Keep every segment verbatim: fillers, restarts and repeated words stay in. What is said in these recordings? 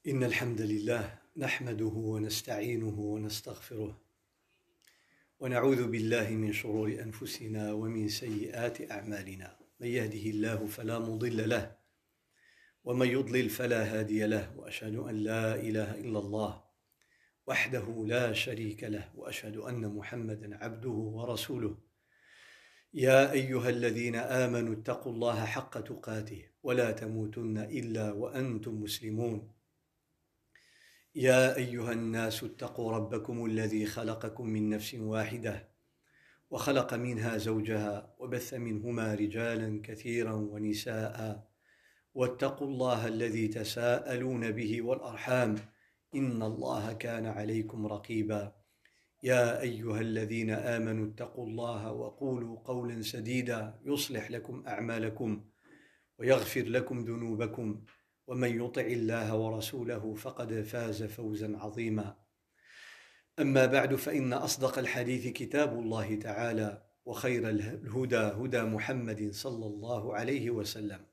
إن الحمد لله نحمده ونستعينه ونستغفره ونعوذ بالله من شرور أنفسنا ومن سيئات أعمالنا من يهده الله فلا مضل له ومن يضلل فلا هادي له وأشهد أن لا إله إلا الله وحده لا شريك له وأشهد أن محمدا عبده ورسوله يا أيها الذين آمنوا اتقوا الله حق تقاته ولا تموتن إلا وأنتم مسلمون يا أيها الناس اتقوا ربكم الذي خلقكم من نفس واحدة وخلق منها زوجها وبث منهما رجالا كثيرا ونساء واتقوا الله الذي تساءلون به والأرحام إن الله كان عليكم رقيبا يا أيها الذين آمنوا اتقوا الله وقولوا قولا سديدا يصلح لكم أعمالكم ويغفر لكم ذنوبكم ومن يطع الله ورسوله فقد فاز فوزا عظيما أما بعد فإن أصدق الحديث كتاب الله تعالى وخير الهدى هدى محمد صلى الله عليه وسلم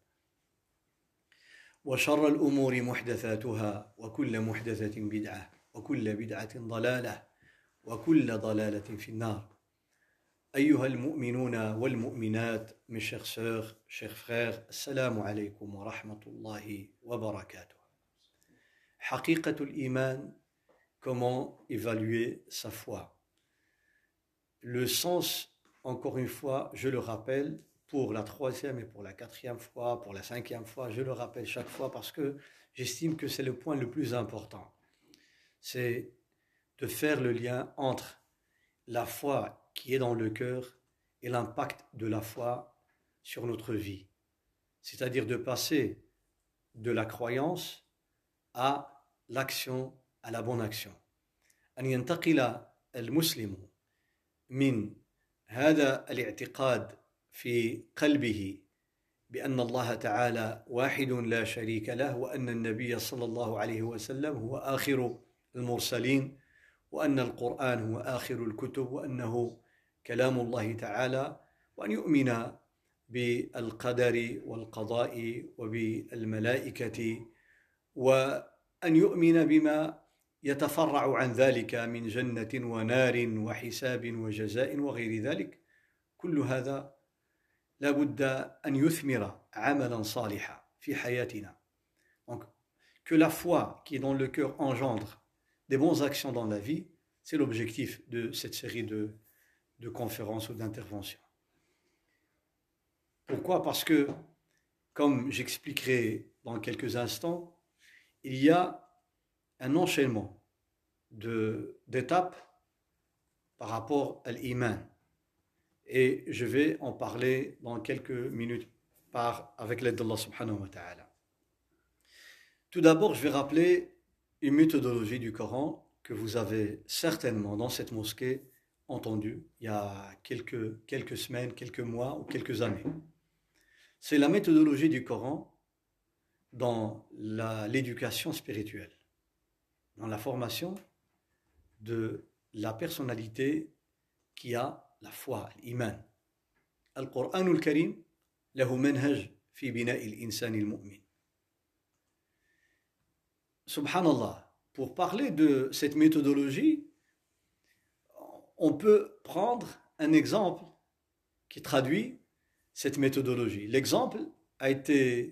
وشر الأمور محدثاتها وكل محدثة بدعة وكل بدعة ضلالة وكل ضلالة في النار أيها المؤمنون والمؤمنات mes chères sœurs, chers frères, assalamu alaikum wa rahmatullahi wa barakatuh. Haqiqatul iman, comment évaluer sa foi? Le sens, encore une fois, je le rappelle, pour la troisième et pour la quatrième fois, pour la cinquième fois, je le rappelle chaque fois parce que j'estime que c'est le point le plus important. C'est de faire le lien entre la foi qui est dans le cœur et l'impact de la foi sur notre vie. C'est-à-dire de passer de la croyance à l'action, à la bonne action. أن ينتقل المسلم من هذا الاعتقاد في قلبه بأن الله تعالى واحد لا شريك له وأن النبي صلى الله عليه وسلم هو آخر المرسلين وأن القرآن هو آخر الكتب وأنه كلام الله تعالى وأن يؤمن بالقدر والقضاء وبالملائكة وأن يؤمن بما يتفرع عن ذلك من جنة ونار وحساب وجزاء وغير ذلك كل هذا لا بد أن يثمر عملا صالحا في حياتنا. Donc, que la foi qui est dans le cœur engendre des bonnes actions dans la vie, c'est l'objectif de cette série de, de conférences ou d'interventions. Pourquoi? Parce que, comme j'expliquerai dans quelques instants, il y a un enchaînement de, d'étapes par rapport à l'iman. Et je vais en parler dans quelques minutes par, avec l'aide d'Allah subhanahu wa ta'ala. Tout d'abord, je vais rappeler une méthodologie du Coran que vous avez certainement dans cette mosquée entendue il y a quelques, quelques semaines, quelques mois ou quelques années. C'est la méthodologie du Coran dans la, l'éducation spirituelle, dans la formation de la personnalité qui a la foi, l'iman. Al-Qur'an al-Karim lahu manhaj fi bina'i al-insan al-mu'min. Subhanallah, pour parler de cette méthodologie, on peut prendre un exemple qui traduit cette méthodologie. L'exemple a été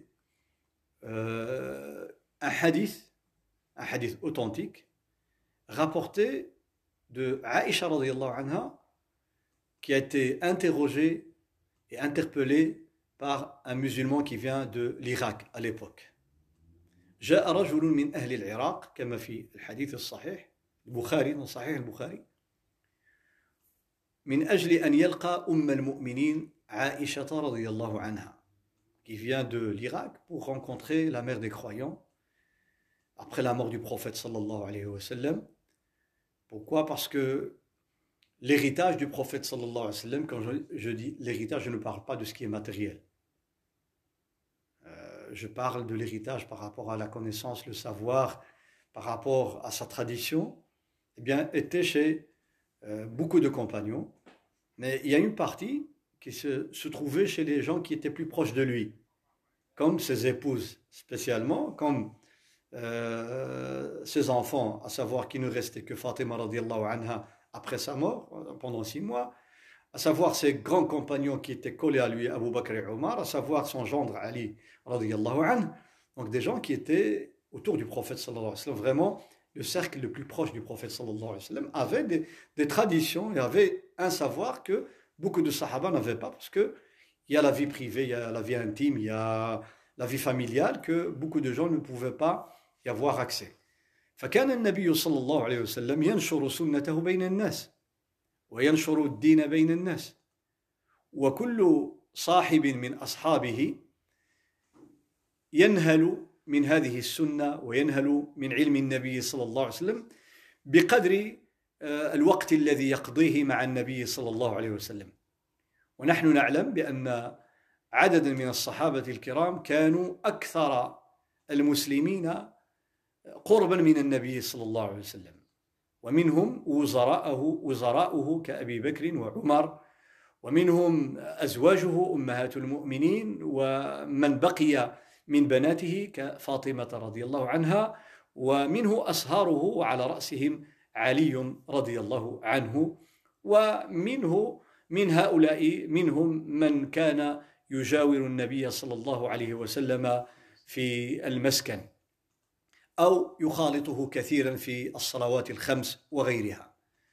euh, un hadith, un hadith authentique, rapporté de Aïcha radiyallahu anha, qui a été interrogée et interpellée par un musulman qui vient de l'Irak à l'époque. جاء رجل من أهل العراق كما في الحديث الصحيح البخاري من صحيح البخاري من أجل أن يلقى أم المؤمنين عائشة رضي الله عنها qui vient de l'Irak pour rencontrer la mère des croyants après la mort du prophète sallallahu alayhi wa sallam. Pourquoi? Parce que l'héritage du prophète sallallahu alayhi wa sallam, quand je, je dis l'héritage, je ne parle pas de ce qui est matériel. Je parle de l'héritage par rapport à la connaissance, le savoir, par rapport à sa tradition, eh bien, était chez euh, beaucoup de compagnons. Mais il y a une partie qui se, se trouvait chez les gens qui étaient plus proches de lui, comme ses épouses spécialement, comme euh, ses enfants, à savoir qu'il ne restait que Fatima radiallahu anha après sa mort, pendant six mois, à savoir ses grands compagnons qui étaient collés à lui, Abu Bakr et Omar, à savoir son gendre Ali radiallahu anhu, donc des gens qui étaient autour du prophète sallallahu alayhi wa sallam, vraiment le cercle le plus proche du prophète sallallahu alayhi wa sallam, avait des, des traditions et avait un savoir que beaucoup de sahaba n'avaient pas, parce que il y a la vie privée, il y a la vie intime, il y a la vie familiale que beaucoup de gens ne pouvaient pas y avoir accès. فكان النبي صلى الله عليه وسلم ينشر سنته بين الناس وينشر الدين بين الناس وكل صاحب من أصحابه ينهل من هذه السنة وينهل من علم النبي صلى الله عليه وسلم بقدر الوقت الذي يقضيه مع النبي صلى الله عليه وسلم. ونحن نعلم بأن عددا من الصحابة الكرام كانوا أكثر المسلمين قربا من النبي صلى الله عليه وسلم، ومنهم وزراءه وزراؤه كأبي بكر وعمر، ومنهم أزواجه أمهات المؤمنين، ومن بقي من بناته كفاطمة رضي الله عنها، ومنه أصهاره وعلى رأسهم علي رضي الله عنه، ومنه من هؤلاء منهم من كان يجاور النبي صلى الله عليه وسلم في المسكن أو يخالطه كثيرا في الصلوات الخمس وغيرها.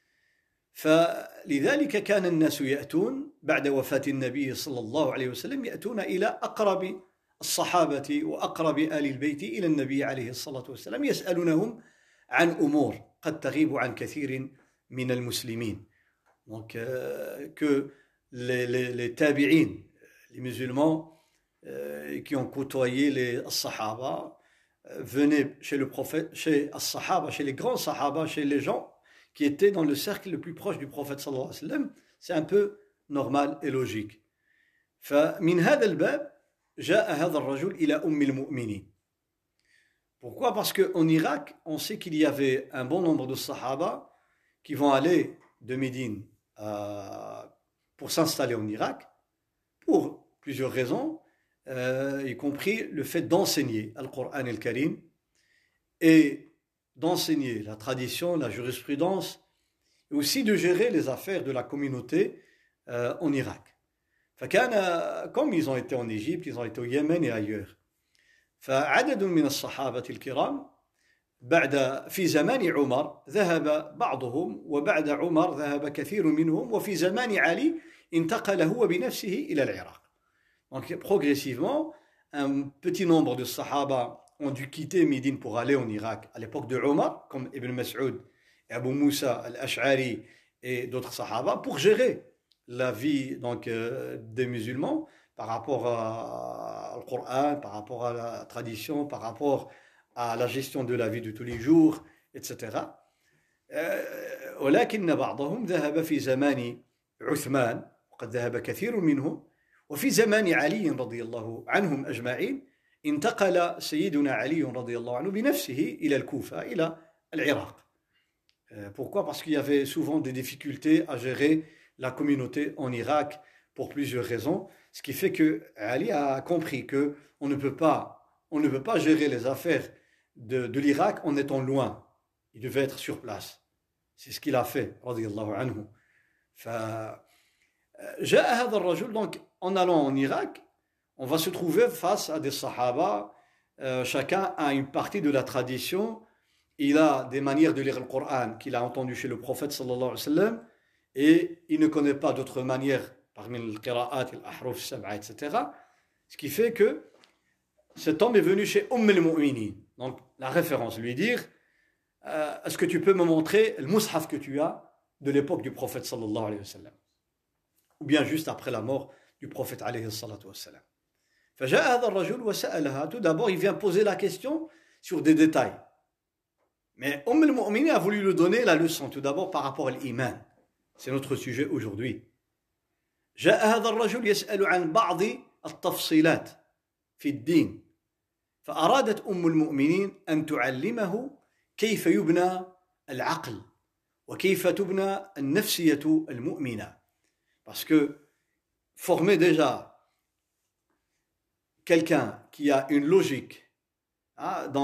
فلذلك كان الناس يأتون بعد وفاة النبي صلى الله عليه وسلم، يأتون إلى أقرب الصحابة وأقرب آل البيت إلى النبي عليه الصلاة والسلام، يسألونهم عن أمور قد تغيب عن كثير من المسلمين. Donc euh, que les, les, les tabi'in, les musulmans euh, qui ont côtoyé les sahaba, euh, venaient chez le prophète, chez as-sahaba, chez les grands sahaba, chez les gens qui étaient dans le cercle le plus proche du prophète sallallahu alayhi wa sallam, c'est un peu normal et logique. فمن هذا الباب جاء هذا الرجل إلى أم المؤمنين. Pourquoi? Parce qu'en Irak, on sait qu'il y avait un bon nombre de sahaba qui vont aller de Médine euh, pour s'installer en Irak, pour plusieurs raisons, euh, y compris le fait d'enseigner le Coran et le Karim, et d'enseigner la tradition, la jurisprudence, et aussi de gérer les affaires de la communauté euh, en Irak. فكان, comme ils ont été en Égypte, ils ont été au Yémen et ailleurs. فعدد من الصحابة الكرام بعد في زمان عمر ذهب بعضهم، وبعد عمر ذهب كثير منهم، وفي زمان علي انتقل هو بنفسه إلى العراق. Donc progressivement, un petit nombre de sahaba ont dû quitter Médine pour aller en Irak à l'époque de Omar, comme Ibn Mas'ud et Abu Moussa al-Ash'ari et d'autres sahaba, pour gérer la vie donc, euh, des musulmans par rapport à, au Coran, par rapport à la tradition, par rapport à la gestion de la vie de tous les jours, et cetera. ولكن بعضهم ذهب في زمان عثمان، وقد ذهب كثير منهم، وفي زمان علي رضي الله عنهم أجمعين انتقل سيدنا علي رضي الله عنه بنفسه إلى الكوفة، إلى العراق. Pourquoi? Parce qu'il y avait souvent des difficultés à gérer la communauté en Irak pour plusieurs raisons, ce qui fait que Ali a compris que on ne peut pas, on ne peut pas gérer les affaires de, de l'Irak en étant loin. Il devait être sur place. C'est ce qu'il a fait, radiyallahu anhu. فجاء هذا الرجل, donc en allant en Irak, on va se trouver face à des sahaba, euh, chacun a une partie de la tradition, il a des manières de lire le Coran qu'il a entendu chez le prophète sallallahu alayhi wa sallam, et il ne connaît pas d'autres manières parmi le qira'at, l'ahruf, sab'a, et cetera. Ce qui fait que cet homme est venu chez Umm al-Mu'minin, donc la référence, lui dire euh, est-ce que tu peux me montrer le mushaf que tu as de l'époque du prophète sallallahu alayhi wa sallam, ou bien juste après la mort du prophète alayhi salatu wa sallam. فجاء هذا الرجل وسألها. Tout d'abord, il vient poser la question sur des détails. Mais Umm al-Mu'minin a voulu lui donner la leçon tout d'abord par rapport à l'iman. C'est notre sujet aujourd'hui. جاء هذا الرجل يسأل عن بعض التفصيلات في الدين، فأرادت أم المؤمنين أن تعلمه كيف يبنى العقل وكيف تبنى النفسية المؤمنة. Parce que former déjà quelqu'un qui a une logique hein, dans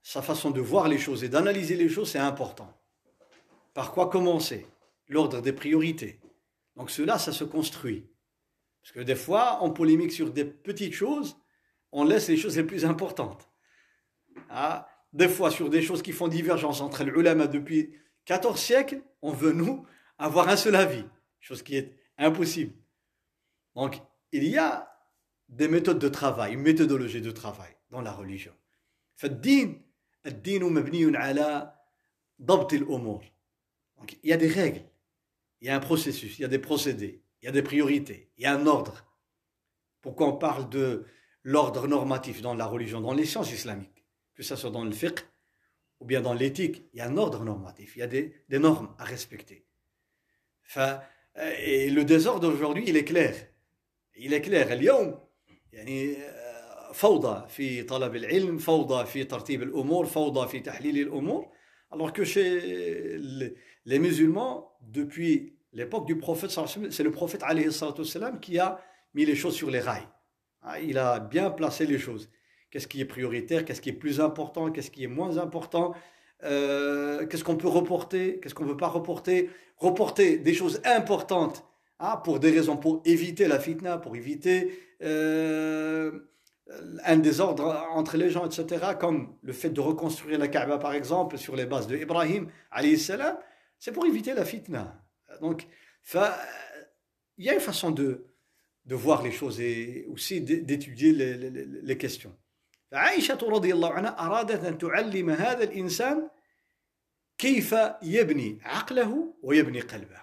sa façon de voir les choses et d'analyser les choses, c'est important. Par quoi commencer? L'ordre des priorités. Donc cela, ça se construit. Parce que des fois, on polémique sur des petites choses, on laisse les choses les plus importantes. Ah, des fois, sur des choses qui font divergence entre les ulama depuis quatorze siècles, on veut, nous, avoir un seul avis. Chose qui est impossible. Donc, il y a des méthodes de travail, une méthodologie de travail dans la religion. فالدين الدين مبني على ضبط الأمور. Donc, il y a des règles, il y a un processus, il y a des procédés, il y a des priorités, il y a un ordre. Pourquoi on parle de l'ordre normatif dans la religion, dans les sciences islamiques, que ce soit dans le fiqh ou bien dans l'éthique, il y a un ordre normatif, il y a des, des normes à respecter. Enfin, et le désordre aujourd'hui, il est clair. Il est clair. اليوم يعني فوضى في طلب العلم، فوضى في ترتيب الأمور، فوضى في تحليل الأمور. Alors que chez les musulmans, depuis l'époque du prophète, c'est le prophète alayhi salatu wassalam qui a mis les choses sur les rails. Il a bien placé les choses. Qu'est-ce qui est prioritaire, qu'est-ce qui est plus important, qu'est-ce qui est moins important, euh, qu'est-ce qu'on peut reporter, qu'est-ce qu'on ne peut pas reporter. Reporter des choses importantes hein, pour des raisons, pour éviter la fitna, pour éviter euh, un désordre entre les gens, et cetera. Comme le fait de reconstruire la Kaaba, par exemple, sur les bases de Ibrahim, alayhi salam, c'est pour éviter la fitna. Donc, il y a une façon de, de voir les choses et aussi d'étudier les, les, les questions. عائشة رضي الله عنها أرادت أن تعلم هذا الإنسان كيف يبني عقله ويبني قلبه.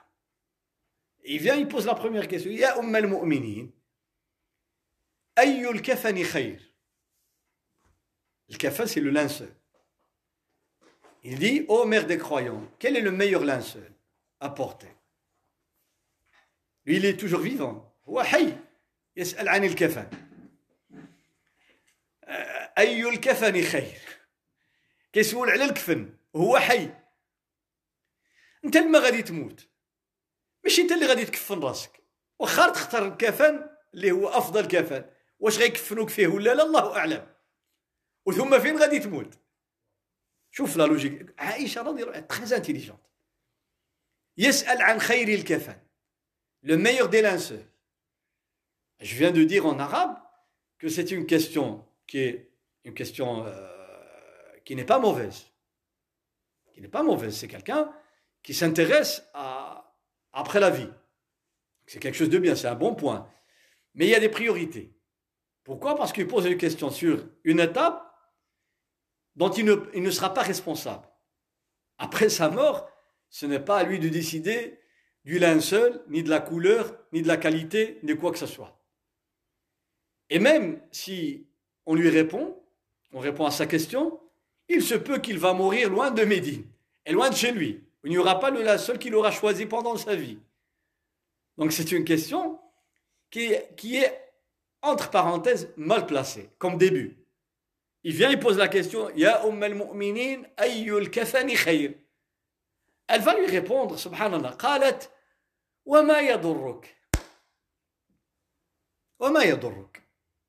Il vient, il pose la première question. يا أم المؤمنين أي الكفن خير. Le kafan, c'est le linceul. Il dit, ô mère des croyants, quel est le meilleur linceul à porter? Lui, il est toujours vivant. هو حي يسأل عن الكفن. أي الكفن خير. كيسول على الكفن وهو حي. أنت لما غادي تموت ماشي أنت اللي غادي تكفن راسك. واخا تختار الكفن اللي هو أفضل كفن واش غيكفنوك فيه ولا لا الله أعلم. وثم فين غادي تموت. شوف لا لوجيك. عائشة رضي الله عنها très intelligente. يسأل عن خير الكفن. Le meilleur des linceuls. Je viens de dire en arabe que c'est une question qui est une question euh, qui n'est pas mauvaise. Qui n'est pas mauvaise. C'est quelqu'un qui s'intéresse à après la vie. C'est quelque chose de bien, c'est un bon point. Mais il y a des priorités. Pourquoi? Parce qu'il pose une question sur une étape dont il ne, il ne sera pas responsable. Après sa mort, ce n'est pas à lui de décider du linceul, ni de la couleur, ni de la qualité, ni de quoi que ce soit. Et même si on lui répond, on répond à sa question, il se peut qu'il va mourir loin de Médine, et loin de chez lui. Il n'y aura pas le linceul qu'il aura choisi pendant sa vie. Donc c'est une question qui, qui est, entre parenthèses, mal placée, comme début. Il vient, il pose la question, Ya Umm al-Mu'minin, ayyul kafani khayr. Elle va lui répondre, subhanallah, qalat, wa ma yadurruk. Wa ma yadurruk.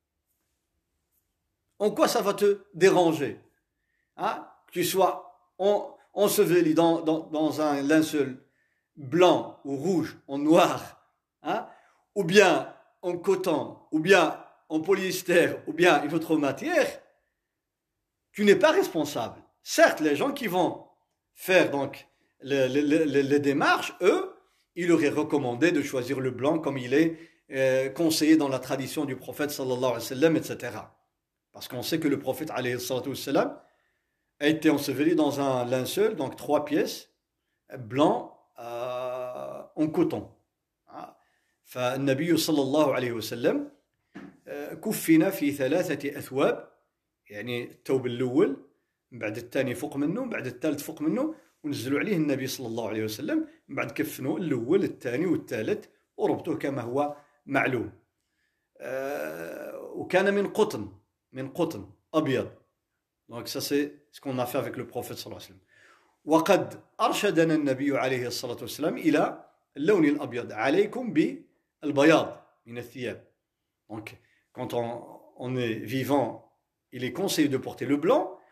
En quoi ça va te déranger hein? Que tu sois en, enseveli dans, dans, dans un linceul blanc ou rouge, en noir, hein? Ou bien en coton, ou bien en polyester, ou bien une autre matière, tu n'es pas responsable. Certes, les gens qui vont faire donc les, les, les, les démarches, eux, il leur est recommandé de choisir le blanc comme il est euh, conseillé dans la tradition du prophète sallallahu alayhi wa sallam, et cetera. Parce qu'on sait que le prophète alayhi wa sallam a été enseveli dans un linceul, donc trois pièces, blanc euh, en coton. فالنبي صلى الله عليه وسلم كفن في ثلاثة أثواب يعني الثوب الأول من بعد الثاني فوق منه من بعد الثالث فوق منه ونزلوا عليه النبي صلى الله عليه وسلم من بعد كفنوا الأول الثاني والثالث وربطوه كما هو معلوم وكان من قطن من قطن أبيض. Donc ça c'est ce qu'on a fait avec le prophète صلى الله عليه وسلم. وقد أرشدنا النبي عليه الصلاة والسلام إلى اللون الأبيض عليكم بالبياض من الثياب. Donc quand on, on est vivant, il est conseillé de porter le blanc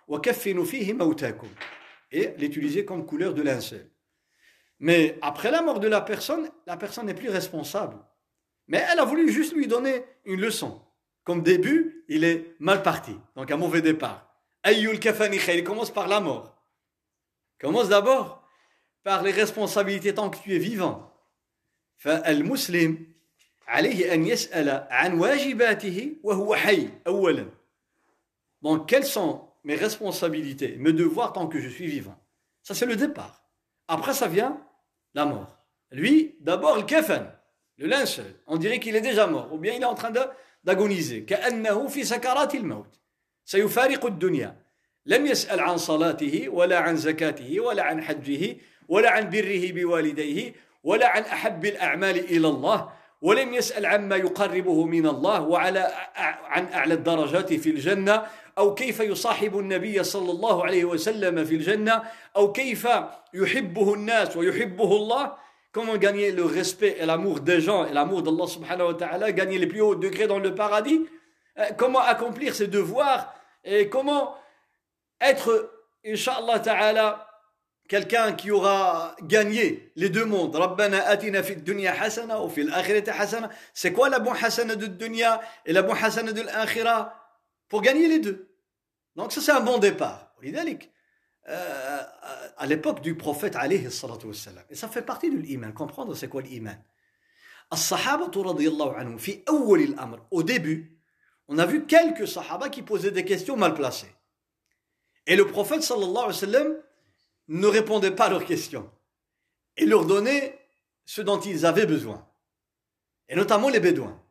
وَكَفِّنُوا فِيهِ مَوْتَاكُمْ et l'utiliser comme couleur de linceul. Mais après la mort de la personne, la personne n'est plus responsable. Mais elle a voulu juste lui donner une leçon. Comme début, il est mal parti, donc un mauvais départ. Ayyul kafani khayr, il commence par la mort. Commence d'abord par les responsabilités tant que tu es vivant. فالمسلم عليه أن يسأل عن واجباته وهو حي أولا. Donc quelles sont mes responsabilités, mes devoirs tant que je suis vivant? Ça c'est le départ. Après ça vient la mort. Lui, d'abord le kafan, le linceul. On dirait qu'il est déjà mort, ou bien il est en train de, d'agoniser. كأنه في سكرات الموت. سيفارق الدنيا. لم يسأل عن صلاته ولا عن زكاته ولا عن حجه ولا عن بره بوالديه ولا عن أحب الأعمال إلى الله ولم يسأل عما يقربه من الله وعلى عن أعلى الدرجات في الجنة أو كيف يصاحب النبي صلى الله عليه وسلم في الجنة أو كيف يحبه الناس ويحبه الله. Comment gagner le respect et l'amour des gens et l'amour d'Allah subhanahu wa ta'ala, gagner les plus hauts degrés dans le paradis. Comment accomplir ses devoirs et comment être, Inch'Allah ta'ala, quelqu'un qui aura gagné les deux mondes. Rabbana atina fi dunya hasana ou fi l'akhirati hasana. C'est quoi la bonne hasana de dunya et la bonne hasana de l'akhira? Pour gagner les deux. Donc ça c'est un bon départ. Euh, à l'époque du prophète alayhi salatu wassalam. Et ça fait partie de l'iman. Comprendre c'est quoi l'iman. As-sahabatu radiyallahu anhum fi awwal al-amr. Au début, on a vu quelques sahaba qui posaient des questions mal placées. Et le prophète sallallahu alayhi wa sallam ne répondait pas à leurs questions. Il leur donnait ce dont ils avaient besoin. Et notamment les bédouins.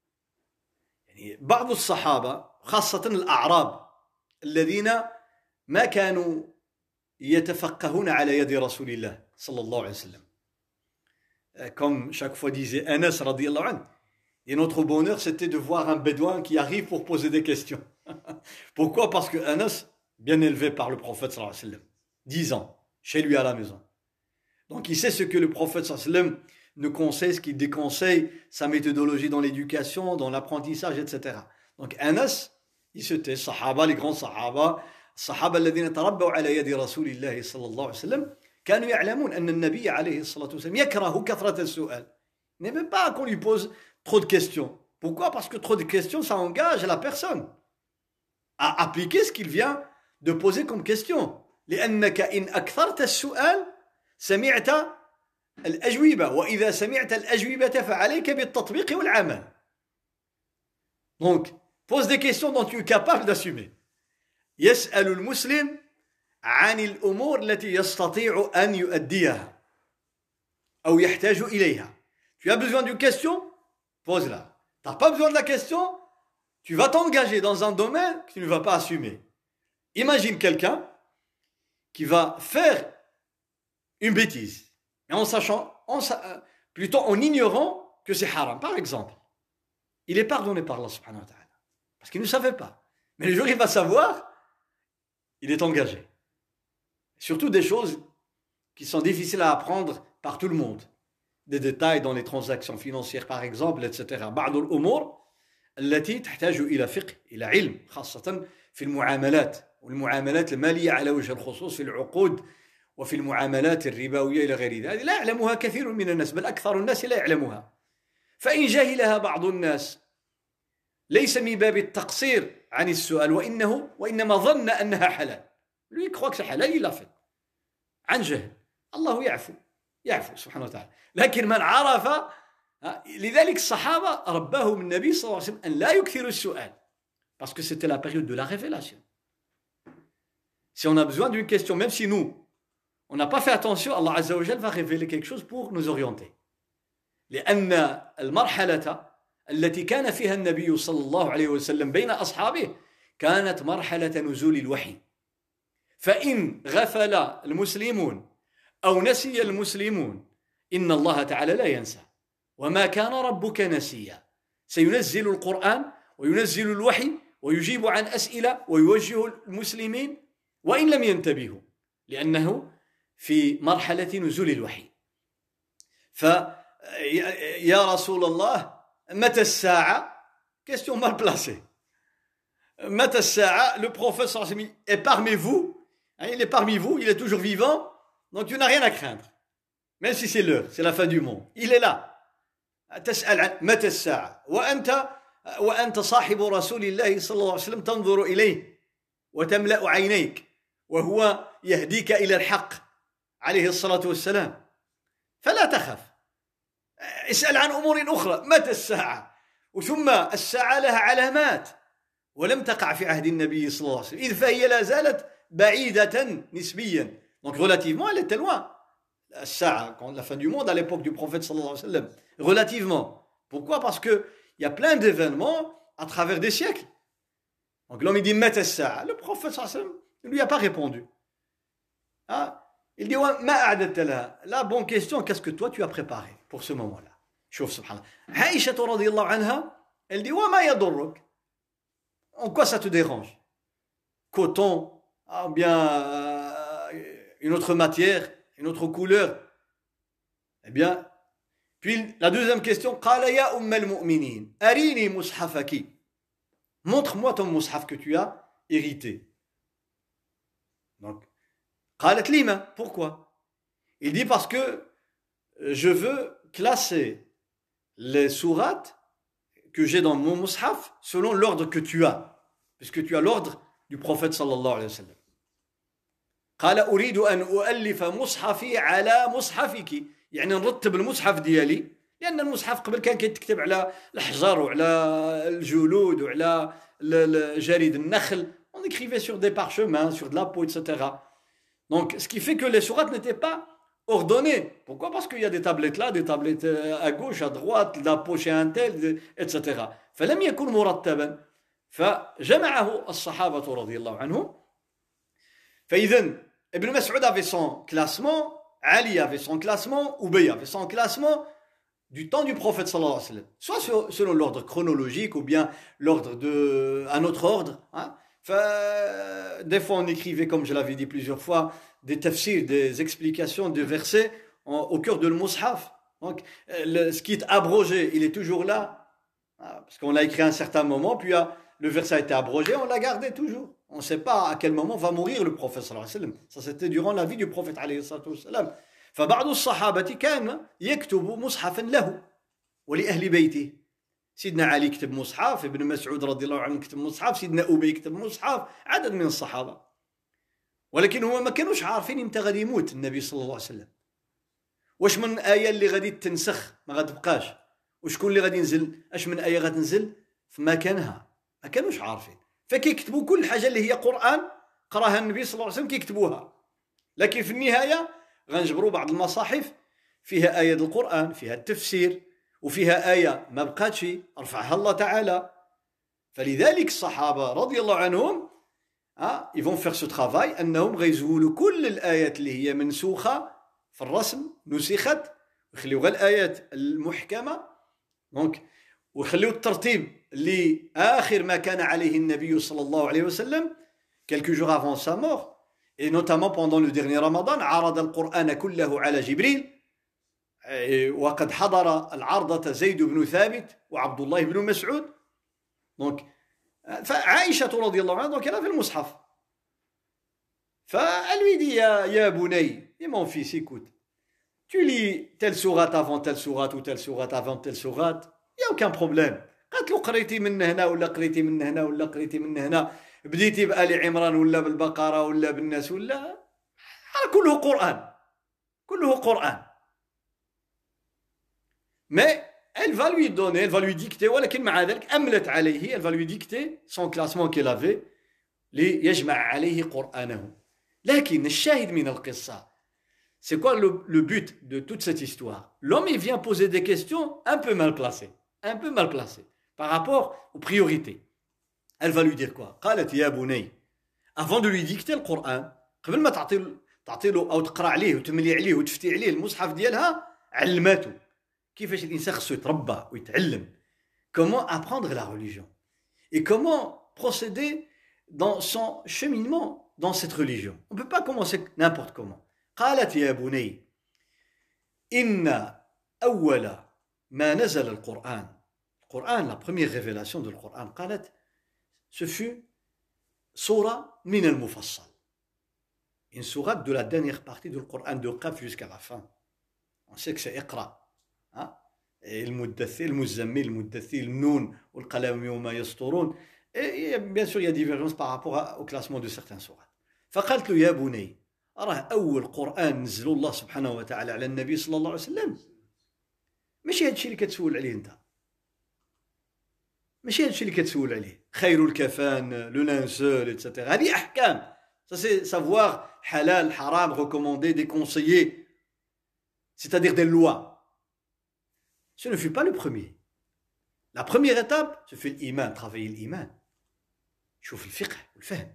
بعض الصحابة خاصة الأعراب الذين ما كانوا يتفقهون على يد رسول الله صلى الله عليه وسلم. Comme chaque fois disait Anas radiyallahu anhu. Et notre bonheur c'était de voir un bédouin qui arrive pour poser des questions. Pourquoi? Parce que Anas, bien élevé par le prophète sallallahu alayhi wa sallam, dix ans, chez lui à la maison. Donc il sait ce que le prophète sallallahu alayhi wa sallam nous conseille, ce qu'il déconseille, sa méthodologie dans l'éducation, dans l'apprentissage, et cetera. Donc Anas, il se tait, sahaba, les grands sahaba, sahaba الذين تربوا على يد رسول الله صلى الله عليه وسلم, كانوا يعلمون أن النبي عليه الصلاة والسلام يكره كثرة السؤال. Il n'aimait pas qu'on lui pose trop de questions. Pourquoi? Parce que trop de questions, ça engage la personne à appliquer ce qu'il vient de poser comme question. لأنك إن أكثرت السؤال سمعت الأجوبة وإذا سمعت الأجوبة فعليك بالتطبيق والعمل. Donc, pose des questions dont tu es capable d'assumer. يسأل المسلم عن الأمور التي يستطيع أن يؤديها أو يحتاج إليها. Tu as besoin d'une question? Pose-la. Tu n'as pas besoin de la question? Tu vas t'engager dans un domaine que tu ne vas pas assumer. Imagine quelqu'un qui va faire une bêtise, mais en sachant, en, plutôt en ignorant que c'est haram. Par exemple, il est pardonné par Allah subhanahu wa ta'ala, parce qu'il ne savait pas. Mais le jour où il va savoir, il est engagé. Surtout des choses qui sont difficiles à apprendre par tout le monde. Des détails dans les transactions financières, par exemple, et cetera. بعض الأمور التي تحتاج إلى فقه، إلى علم، خاصة في المعاملات والمعاملات المالية على وجه الخصوص في العقود وفي المعاملات الربوية إلى غير ذلك. لا يعلمها كثير من الناس، بل أكثر الناس لا يعلمها. فإن جهلها بعض الناس ليس من باب التقصير عن السؤال وإنه وإنما ظن أنها حلال. Lui il croit que c'est halal, il l'a fait. عن جهل. الله يعفو يعفو سبحانه وتعالى. لكن من عرف، لذلك الصحابة رباهم النبي صلى الله عليه وسلم أن لا يكثروا السؤال parce que c'était la période de la révélation. Si on a besoin d'une question, même si nous on n'a pas fait attention, Allah Azza wa Jal va révéler quelque chose pour nous orienter. لأن المرحلة التي كان فيها النبي صلى الله عليه وسلم بين أصحابه كانت مرحلة نزول الوحي. فإن غفل المسلمون أو نسي المسلمون إن الله تعالى لا ينسى وما كان ربك نسيا. سينزل القرآن وينزل الوحي ويجيب عن أسئلة ويوجه المسلمين وإن لم ينتبهوا لأنه في مرحلة نزول الوحي. فيا رسول الله متى الساعة؟ question mal placée. Mata as-sa'a, le prophète sallallahu alayhi wa sallam est parmi vous, hein, il est parmi vous, il est toujours vivant, donc tu n'as rien à craindre. Même si c'est l'heure, c'est la fin du monde. Il est là. تسأل عن متى الساعة وأنت وأنت صاحب رسول الله صلى الله عليه وسلم تنظر إليه وتملأ عينيك وهو يهديك إلى الحق عليه الصلاة والسلام فلا تخف. اسأل عن أمور أخرى. متى الساعة؟ وثم الساعة لها علامات ولم تقع في عهد النبي صلى الله عليه وسلم إذ فهي لا زالت بعيدة نسبيا. Donc relativement elle était loin. الساعة, quand la fin du monde à l'époque du prophète sallallahu alayhi wa sallam, relativement. Pourquoi? Parce que il y a plein d'événements à travers des siècles. Donc l'homme il dit mata as-sa'a, le prophète sallallahu alayhi wa sallam ne lui a pas répondu. Ah, il dit ma a'dadta laha, la bonne question, qu'est-ce que toi tu as préparé pour ce moment-là? Chouf subhanallah. Aïcha radhiyallahu anha, elle dit wa ma yadurruk, en quoi ça te dérange? Coton, ah, bien euh, une autre matière, une autre couleur. Eh bien, puis la deuxième question, qala ya umm al-mu'minin, arini mushafaki. Montre-moi ton mushaf que tu as hérité. Donc, qalat lima, pourquoi? Il dit parce que je veux classer les sourates que j'ai dans mon mushaf selon l'ordre que tu as, puisque tu as l'ordre du prophète sallallahu alayhi wa sallam. قال أريد أن أؤلف مصحفي على مصحفك يعني نرتب المصحف ديالي لأن المصحف قبل كان كيتكتب على الحجر وعلى الجلود وعلى جريد النخل on écrivait sur des parchemins sur de la peau etc. Donc ce qui fait que les sourates n'étaient pas ordonnées. Pourquoi? Parce qu'il y a des tablettes là, des tablettes à gauche, à droite, de la poche à un tel etc. فلم يكن مرتبا فجمعه الصحابة رضي الله عنهم. فإذن Ibn Mas'ud avait son classement, Ali avait son classement, Ubay avait son classement du temps du prophète sallallahu alayhi wa sallam. Soit selon l'ordre chronologique ou bien l'ordre de un autre ordre. Hein. Des fois on écrivait, comme je l'avais dit plusieurs fois, des tafsirs, des explications de versets en, au cœur de le mushaf. Donc le, ce qui est abrogé, il est toujours là. Hein, parce qu'on l'a écrit à un certain moment, puis a, le verset a été abrogé, on l'a gardé toujours. On ne sait pas à quel moment va mourir le prophète sallallahu alayhi wa sallam. Ça c'était durant la vie du prophète alayhi sallam. فبعض الصحابة كان يكتب مصحفا له ولأهل بيته. سيدنا علي كتب مصحف، ابن مسعود رضي الله عنه كتب مصحف، سيدنا أبي كتب مصحف، عدد من الصحابة. ولكن هما ما كانوش عارفين امتى غادي يموت النبي صلى الله عليه وسلم. واش من آية اللي غادي تنسخ ما غتبقاش، وشكون اللي غادي ينزل، اش من آية غتنزل في مكانها، ما كانوش عارفين. فكيكتبوا كل حاجة اللي هي قرآن قراها النبي صلى الله عليه وسلم كيكتبوها. لكن في النهاية غنجبروا بعض المصاحف فيها آية القرآن، فيها التفسير، وفيها آية ما بقاتش رفعها الله تعالى. فلذلك الصحابة رضي الله عنهم ah, ils vont faire ce travail أنهم غيزولوا كل الآيات اللي هي منسوخة في الرسم نسخت ويخليوا غير الآيات المحكمة دونك ويخليوا الترتيب لآخر ما كان عليه النبي صلى الله عليه وسلم quelques jours avant sa mort et notamment pendant le dernier Ramadan عرض القرآن كله على جبريل وقد حضر العرضة زيد بن ثابت وعبد الله بن مسعود donc فعائشة رضي الله عنها donc elle avait le mushaf فelle lui dit يا يا بني et mon fils écoute tu lis telle sourate avant telle sourate ou telle sourate avant telle sourate il y a aucun problème قالت له قريتي من هنا ولا قريتي من هنا ولا قريتي من هنا بديتي بآل عمران ولا بالبقرة ولا بالناس ولا كله قرآن كله قرآن mais elle va lui donner, elle va lui dicter ولكن مع ذلك أملت عليه, elle va lui dicter son classement qu'elle avait ليجمع عليه قرآنه. لكن الشاهد من القصة, c'est quoi le, le but de toute cette histoire? L'homme il vient poser des questions un peu mal placées, un peu mal placées par rapport aux priorités. Elle va lui dire quoi? قالت يا بني, avant de lui dicter le Coran, قبل ما تعطي تعطي له أو تقرأ عليه وتملي عليه وتفتي عليه المصحف ديالها, علماته كيفاش الإنسان خصو يتربى ويتعلم, comment apprendre la religion et comment procéder dans son cheminement dans cette religion. On ne peut pas commencer n'importe comment. قالت يا بني إن أول ما نزل القرآن, القرآن, la première révélation de القرآن, قالت, ce fut Sourate min al-Mufassal. Une sourate de la dernière partie du Coran, de Qaf jusqu'à la fin. On sait que c'est Iqra. Hein? Et le Muddathir, le Muzammil, le Muddathir, le Noun, ou le Qalam Yawma Yasturun. Et bien sûr, il y a divergence par rapport au classement de certains sourates. فقالت له يا بني أراه أول قرآن نزل الله سبحانه وتعالى على النبي صلى الله عليه وسلم ماشي هادشي اللي كتسول عليه انت ماشي هادشي اللي كتسول عليه خير الكفان لو لانسول ايتترا هذه احكام ça c'est savoir halal haram recommandé déconseillé c'est-à-dire des lois ce ne fut pas le premier la première étape ce fut l'iman travailler l'iman شوف الفقه والفهم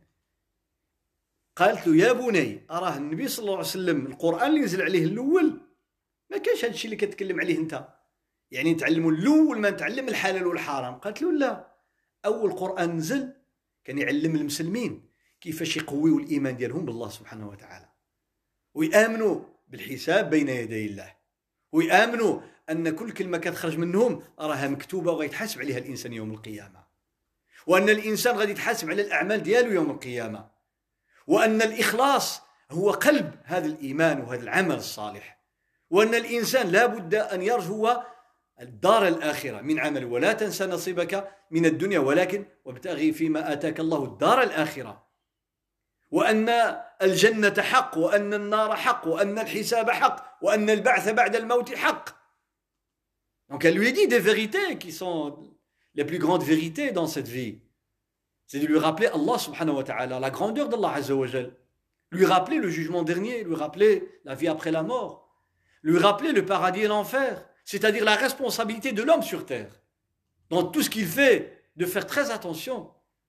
قالت له يا بني أراه النبي صلى الله عليه وسلم القرآن اللي نزل عليه الأول ما كانش هذا الشيء اللي كتكلم عليه انت يعني نتعلموا الاول ما نتعلم الحلال والحرام قالت له لا اول قران نزل كان يعلم المسلمين كيفاش يقويوا الايمان ديالهم بالله سبحانه وتعالى ويامنوا بالحساب بين يدي الله ويامنوا ان كل كلمه كتخرج منهم راها مكتوبه وغيتحاسب عليها الانسان يوم القيامه وان الانسان غادي يتحاسب على الاعمال ديالو يوم القيامه وان الاخلاص هو قلب هذا الايمان وهذا العمل الصالح وأن الإنسان لا بد أن يرجو الدار الآخرة من عمل ولا تنسى نصيبك من الدنيا ولكن وابتغي فيما آتاك الله الدار الآخرة وأن الجنة حق وأن النار حق وأن الحساب حق وأن البعث بعد الموت حق. Donc elle lui dit des vérités qui sont les plus grandes vérités dans cette vie. C'est de lui rappeler Allah subhanahu wa ta'ala, la grandeur d'Allah azza wa jal, lui rappeler le jugement dernier, lui rappeler la vie après la mort. Lui rappeler le paradis et l'enfer, c'est-à-dire la responsabilité de l'homme sur terre, dans tout ce qu'il fait, de faire très attention.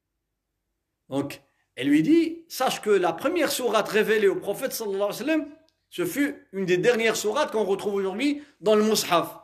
Donc, elle lui dit, sache que la première sourate révélée au prophète sallallahu alayhi wa sallam, ce fut une des dernières sourates qu'on retrouve aujourd'hui dans le Mus'haf.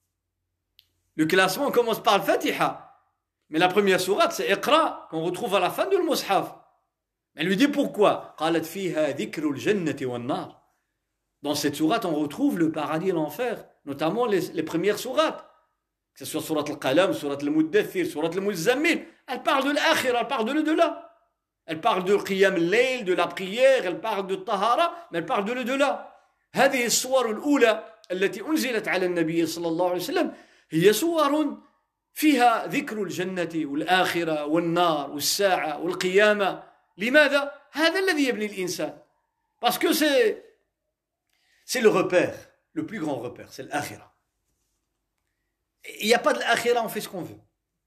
Le classement commence par le Fatiha, mais la première sourate, c'est Iqra, qu'on retrouve à la fin du Mus'haf. Elle lui dit pourquoi? قالت فيها ذكر الجنة والنار. Dans cette sourate, on retrouve le paradis et l'enfer, notamment les, les premières sourates. Que ce soit sourate al-Qalam, sourate al-Muddathir, sourate al-Muzammil. Elle parle de l'akhira, elle parle de l'au-delà. Elle parle de qiyam al-layl, de la prière, elle parle de tahara, mais elle parle de l'au-delà. هذه الصور الأولى التي أنزلت على النبي صلى الله عليه وسلم هي صور فيها ذكر الجنة والآخرة والنار والساعة والقيامة. لماذا؟ هذا الذي يبني الإنسان. Parce que c'est C'est le repère, le plus grand repère, c'est l'akhira. Il n'y a pas de l'akhira, on fait ce qu'on veut.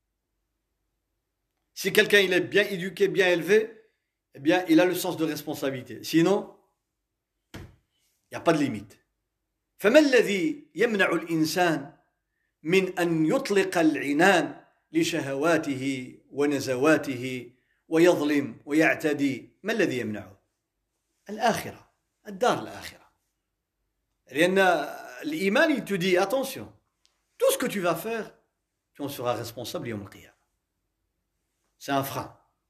Si quelqu'un il est bien éduqué, bien élevé, eh bien il a le sens de responsabilité. Sinon, il n'y a pas de limite. فما الذي يمنع الإنسان من أن يطلق العنان لشهواته ونزواته ويظلم ويعتدي؟ ما الذي يمنعه؟ الآخرة، الدار الآخرة. لأن الإيمان il te dit attention, tout ce que tu vas faire, tu en seras responsable يوم القيامة. C'est un frein.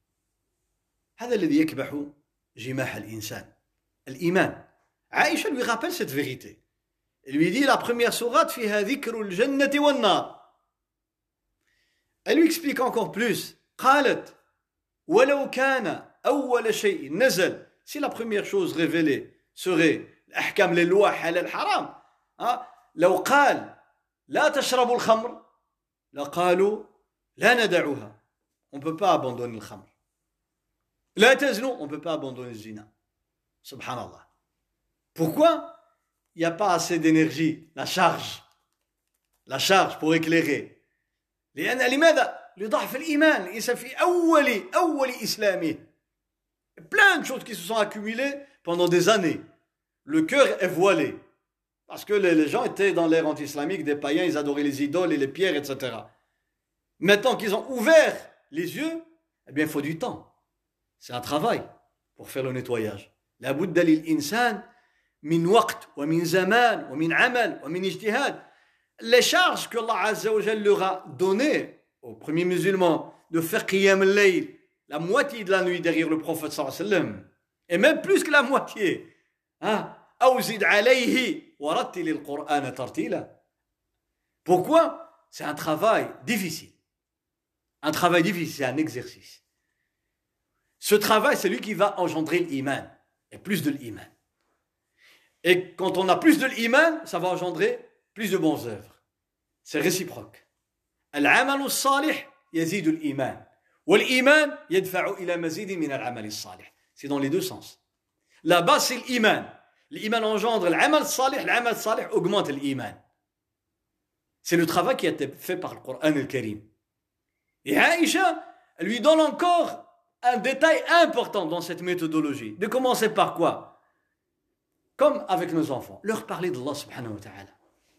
هذا الذي يكبح جماح الإنسان. الإيمان. عائشة lui rappelle cette vérité. Elle lui dit la première sourate فيها ذكر الجنة والنار. Elle lui explique encore plus. قالت ولو كان أول شيء نزل. Si la première chose révélée serait الأحكام les lois حلال حرام ها لو قال لا تشربوا الخمر لقالوا لا ندعوها on ne peut pas abandonner le khamr لا تزنوا on ne peut pas abandonner le zina subhanallah pourquoi il n'y a pas assez d'énergie la charge la charge pour éclairer لأن لماذا لضعف الإيمان الإنسان في أول أول إسلامه plein de choses qui se sont accumulées pendant des années. Le cœur est voilé. Parce que les, les gens étaient dans l'ère anti-islamique, des païens, ils adoraient les idoles et les pierres, et cetera. Maintenant qu'ils ont ouvert les yeux, eh bien, il faut du temps. C'est un travail pour faire le nettoyage. La budda lil insan min waqt, wa min zaman, wa min amal, wa min ijtihad. Les charges que Allah Azza wa Jalla leur a données aux premiers musulmans de faire qiyam al-layl, la moitié de la nuit derrière le prophète sallallahu alayhi wa sallam, et même plus que la moitié. Hein? أوزد عليه ورتل القرآن ترتيلا. Pourquoi? C'est un travail difficile. Un travail difficile, c'est un exercice. Ce travail, c'est lui qui va engendrer l'iman, et plus de l'iman. Et quand on a plus de l'iman, ça va engendrer plus de bonnes œuvres. C'est réciproque. Al-amal as-salih yazid al-iman. Wal-iman yadfa'u ila mazid min al-amal as-salih. C'est dans les deux sens. La base, c'est l'iman. L'iman engendre l'amal salih, l'amal salih augmente l'iman. C'est le travail qui a été fait par le Coran al-Karim. Et Aïcha, elle lui donne encore un détail important dans cette méthodologie. De commencer par quoi? Comme avec nos enfants, leur parler d'Allah subhanahu wa ta'ala.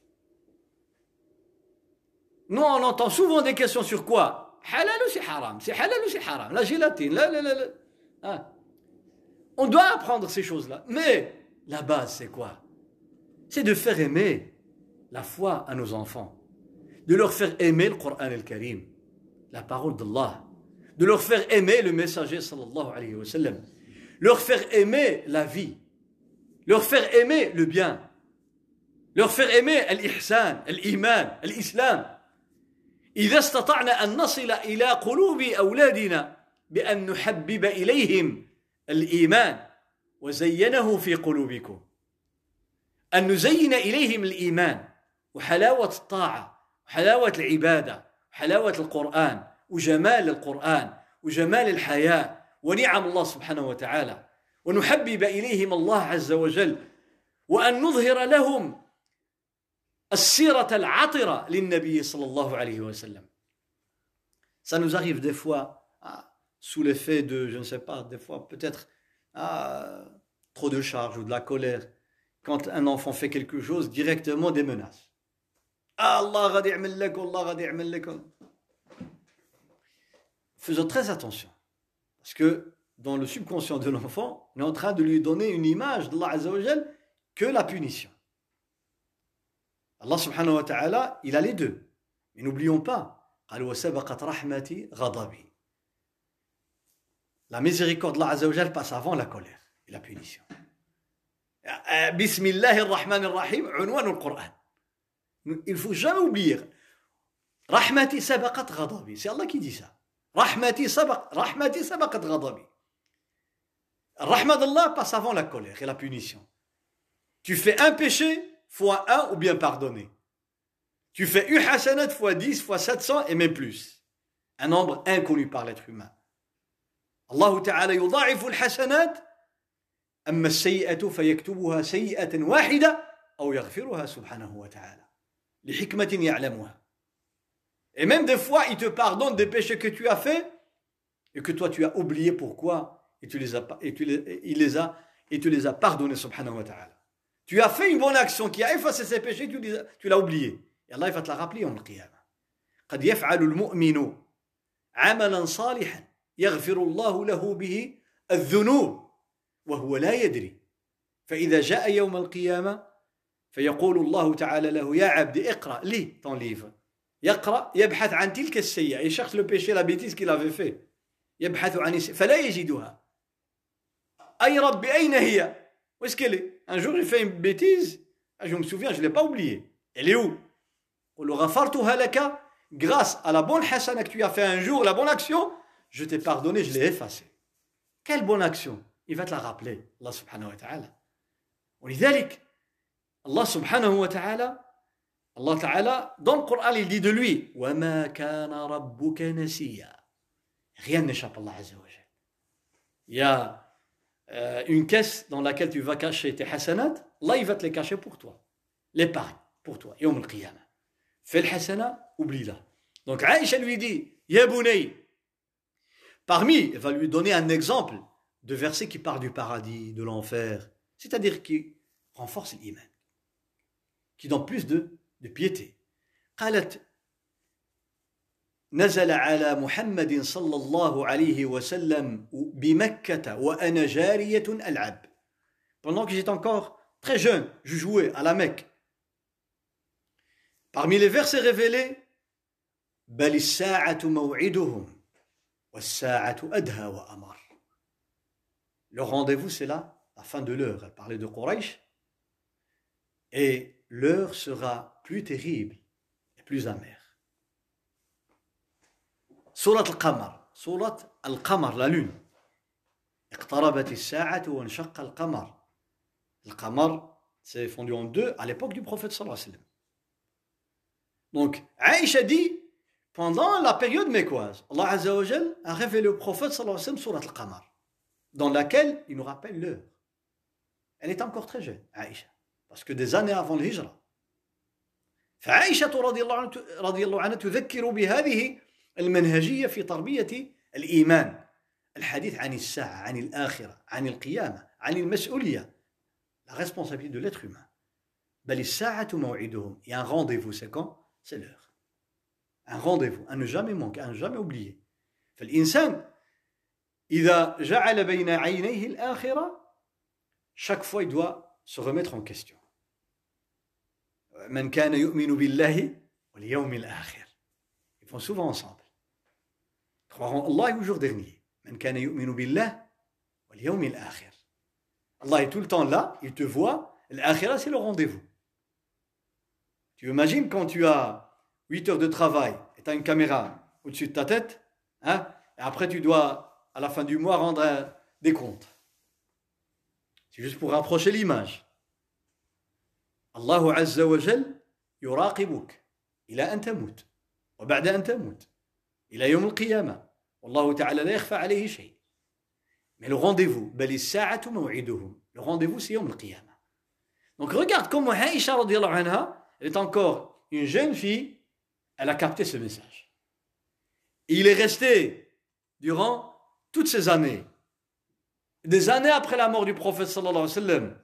Nous, on entend souvent des questions sur quoi? Halal ou c'est haram? C'est halal ou c'est haram? La gélatine, la, la, la, la. Hein? On doit apprendre ces choses-là. Mais la base, c'est quoi? C'est de faire aimer la foi à nos enfants. De leur faire aimer le Coran al-Karim, la parole d'Allah. De leur faire aimer le messager sallallahu alayhi wa sallam. Leur faire aimer la vie. Leur faire aimer le bien. Leur faire aimer l'ihsan, l'iman, l'islam. إذا استطعنا أن نصل إلى قلوب أولادنا بأن نحبب إليهم الإيمان وزينه في قلوبكم أن نزين إليهم الإيمان وحلاوة الطاعة وحلاوة العبادة وحلاوة القرآن وجمال القرآن وجمال الحياة ونعم الله سبحانه وتعالى ونحبب إليهم الله عز وجل وأن نظهر لهم السيرة العطرة للنبي صلى الله عليه وسلم. Ça nous arrive des fois, ah, sous l'effet de, je ne sais pas, des fois peut-être ah, trop de charge ou de la colère, quand un enfant fait quelque chose, directement des menaces. Ah, Allah غادي يعمل لك, Allah غادي يعمل لك. Faisons très attention, parce que dans le subconscient de l'enfant, on est en train de lui donner une image d'Allah Azza wa Jal que la punition. Allah subhanahu wa ta'ala, il a les deux. Mais n'oublions pas, قال وسبقت رحمتي غضبي. La miséricorde d'Allah Azza wa Jal passe avant la colère et la punition. Bismillahir Rahmanir Rahim, unwan al-Qur'an. Il ne faut jamais oublier. Rahmati sabaqat ghadabi. C'est Allah qui dit ça. Rahmati sabaq, rahmati sabaqat ghadabi. Rahmat d'Allah passe avant la colère et la punition. Tu fais un péché, fois un ou bien pardonné. Tu fais une hasanat fois dix, fois sept cents et même plus. Un nombre inconnu par l'être humain. Allah Ta'ala yudha'ifu al-hasanat amma as-sayyi'atu fayaktubuha sayyi'atan wahida aw yaghfiruha subhanahu wa ta'ala. Li hikmatin ya'lamuha. Et même des fois, il te pardonne des péchés que tu as faits et que toi tu as oublié pourquoi et tu les as et tu les, il les a et tu les as pardonnés subhanahu wa ta'ala. Tu as fait une bonne action qui a effacé ces péchés, tu, les, tu l'as oublié. Et Allah il va te la rappeler en qiyamah. قد يفعل المؤمن عملا صالحا يغفر الله له به الذنوب وهو لا يدري فإذا جاء يوم القيامة فيقول الله تعالى له يا عبدي اقرأ لي ton livre يقرأ يبحث عن تلك السيئة il cherche le péché la bêtise qu'il avait fait يبحث عن فلا يجدها أي رب أين هي où est-ce qu'elle est? Un jour, il fait une bêtise. Je me souviens, je ne l'ai pas oubliée. Elle est où? Grâce à la bonne hasana que tu as fait un jour, la bonne action, je t'ai pardonné, je l'ai effacée. Quelle bonne action? Il va te la rappeler, Allah subhanahu wa ta'ala. ولذلك, Allah subhanahu wa ta'ala, Allah ta'ala, dans le Coran, il dit de lui, وَمَا كَانَ رَبُّكَ نَسِيًّا. Rien n'échappe à Allah Azza wa Jal. Il y a Euh, une caisse dans laquelle tu vas cacher tes hasanat, là il va te les cacher pour toi. L'épargne pour toi. Yawm al-Qiyamah. Fais le hasana, oublie-la. Donc Aïcha lui dit, Ya Bunay. Parmi, elle va lui donner un exemple de verset qui parle du paradis, de l'enfer, c'est-à-dire qui renforce l'iman, qui donne plus de, de piété. قالت نزل على محمد صلى الله عليه وسلم بمكة وأنا جارية ألعب. Pendant que j'étais encore très jeune, je jouais à la Mecque. Parmi les versets révélés, بل الساعة موعدهم والساعة أدهى وأمر. Le rendez-vous, c'est là, la fin de l'heure. Elle parlait de Quraysh. Et l'heure sera plus terrible et plus amère. Surat al-Qamar, Surat al-Qamar, la lune. اقتربت الساعة وانشق القمر. Le qamar s'est fondu en deux à l'époque du prophète sallallahu alayhi wa sallam. Donc, Aïcha dit, pendant la période mécoise, Allah Azza wa Jal a révélé au prophète sallallahu alayhi wa sallam surat al-Qamar, dans laquelle il nous rappelle l'heure. Elle est encore très jeune, Aïcha, parce que des années avant le hijra. فعائشة رضي الله عنها رضي الله عنها تذكر بهذه المنهجية في تربية الإيمان، الحديث عن الساعة، عن الآخرة، عن القيامة، عن المسؤولية، la responsabilité de l'être humain. بل الساعة موعدهم. Il y a un rendez-vous, c'est quand? C'est l'heure. Un rendez-vous, à ne jamais manquer, à ne jamais oublier. فالإنسان إذا جعل بين عينيه الآخرة, chaque fois il doit se remettre en question. من كان يؤمن بالله واليوم الآخر. Ils font souvent ensemble. Croire en Allah et au jour dernier. من كان يؤمن بالله واليوم الآخر. Allah est tout le temps là, il te voit. L'akhira, c'est le rendez-vous. Tu imagines quand tu as huit heures de travail et tu as une caméra au-dessus de ta tête, hein, et après tu dois, à la fin du mois, rendre un, des comptes. C'est juste pour rapprocher l'image. Allah Azza wa Jal يراقبك إلى أن تموت وبعد أن تموت إلى يوم القيامة والله تعالى لا يخفى عليه شيء. Mais le rendez-vous, بل الساعة موعدهم. Le rendez-vous, c'est يوم القيامة. Donc regarde comment Aïcha radiyallahu anha, elle est encore une jeune fille, elle a capté ce message. Et il est resté durant toutes ces années, des années après la mort du prophète sallallahu alayhi wa sallam.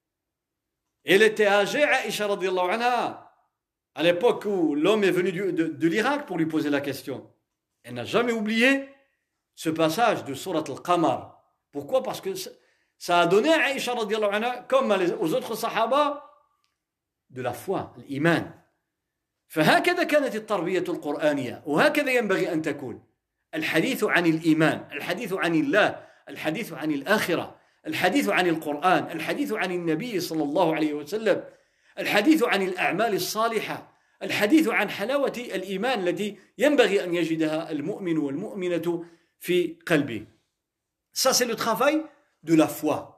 Elle était âgée, Aïcha radiyallahu anha, à l'époque où l'homme est venu de, de, de l'Irak pour lui poser la question. Elle n'a jamais oublié ce passage de Surat al-Qamar. Pourquoi? Parce que ça a donné à Aïcha radiyallahu anha, comme aux autres sahaba, de la foi, l'iman. فهكذا كانت التربية القرآنية وهكذا ينبغي أن تكون. الحديث عن الإيمان، الحديث عن الله، الحديث عن الآخرة، الحديث عن القرآن، الحديث عن النبي صلى الله عليه وسلم، الحديث عن الأعمال الصالحة، الحديث عن حلاوة الإيمان التي ينبغي أن يجدها المؤمن والمؤمنة في قلبه. Ça, c'est le travail de la foi.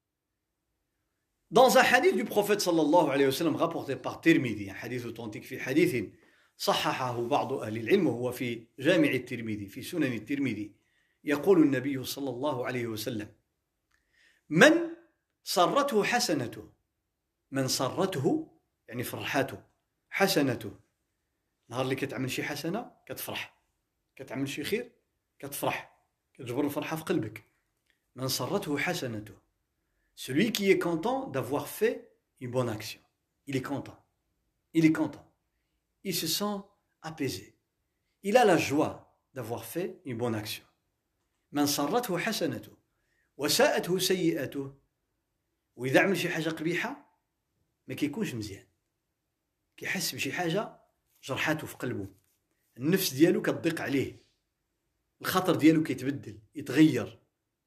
Dans un hadith du prophète sallallahu alayhi wa sallam rapporté par Tirmidhi, un hadith authentique, في حديث صححه بعض أهل العلم وهو في جامع الترمذي في سنن الترمذي، يقول النبي صلى الله عليه وسلم: من سرته حسنته، من سرته يعني فرحاته، حسنته، نهار اللي كتعمل شي حسنة كتفرح، كتعمل شي خير كتفرح، كتجبر الفرحة في قلبك. من سرته حسنته. Celui qui est content d'avoir fait une bonne action. Il est content. Il est content. Il se sent apaisé. Il a la joie d'avoir fait une bonne action. من سرته حسنته وساءته سيئته. وإذا عمل شي حاجة قبيحة ما كيكونش مزيان. كيحس بشي حاجة جرحاته في قلبه. النفس ديالو كتضيق عليه. الخطر ديالو كيتبدل، يتغير.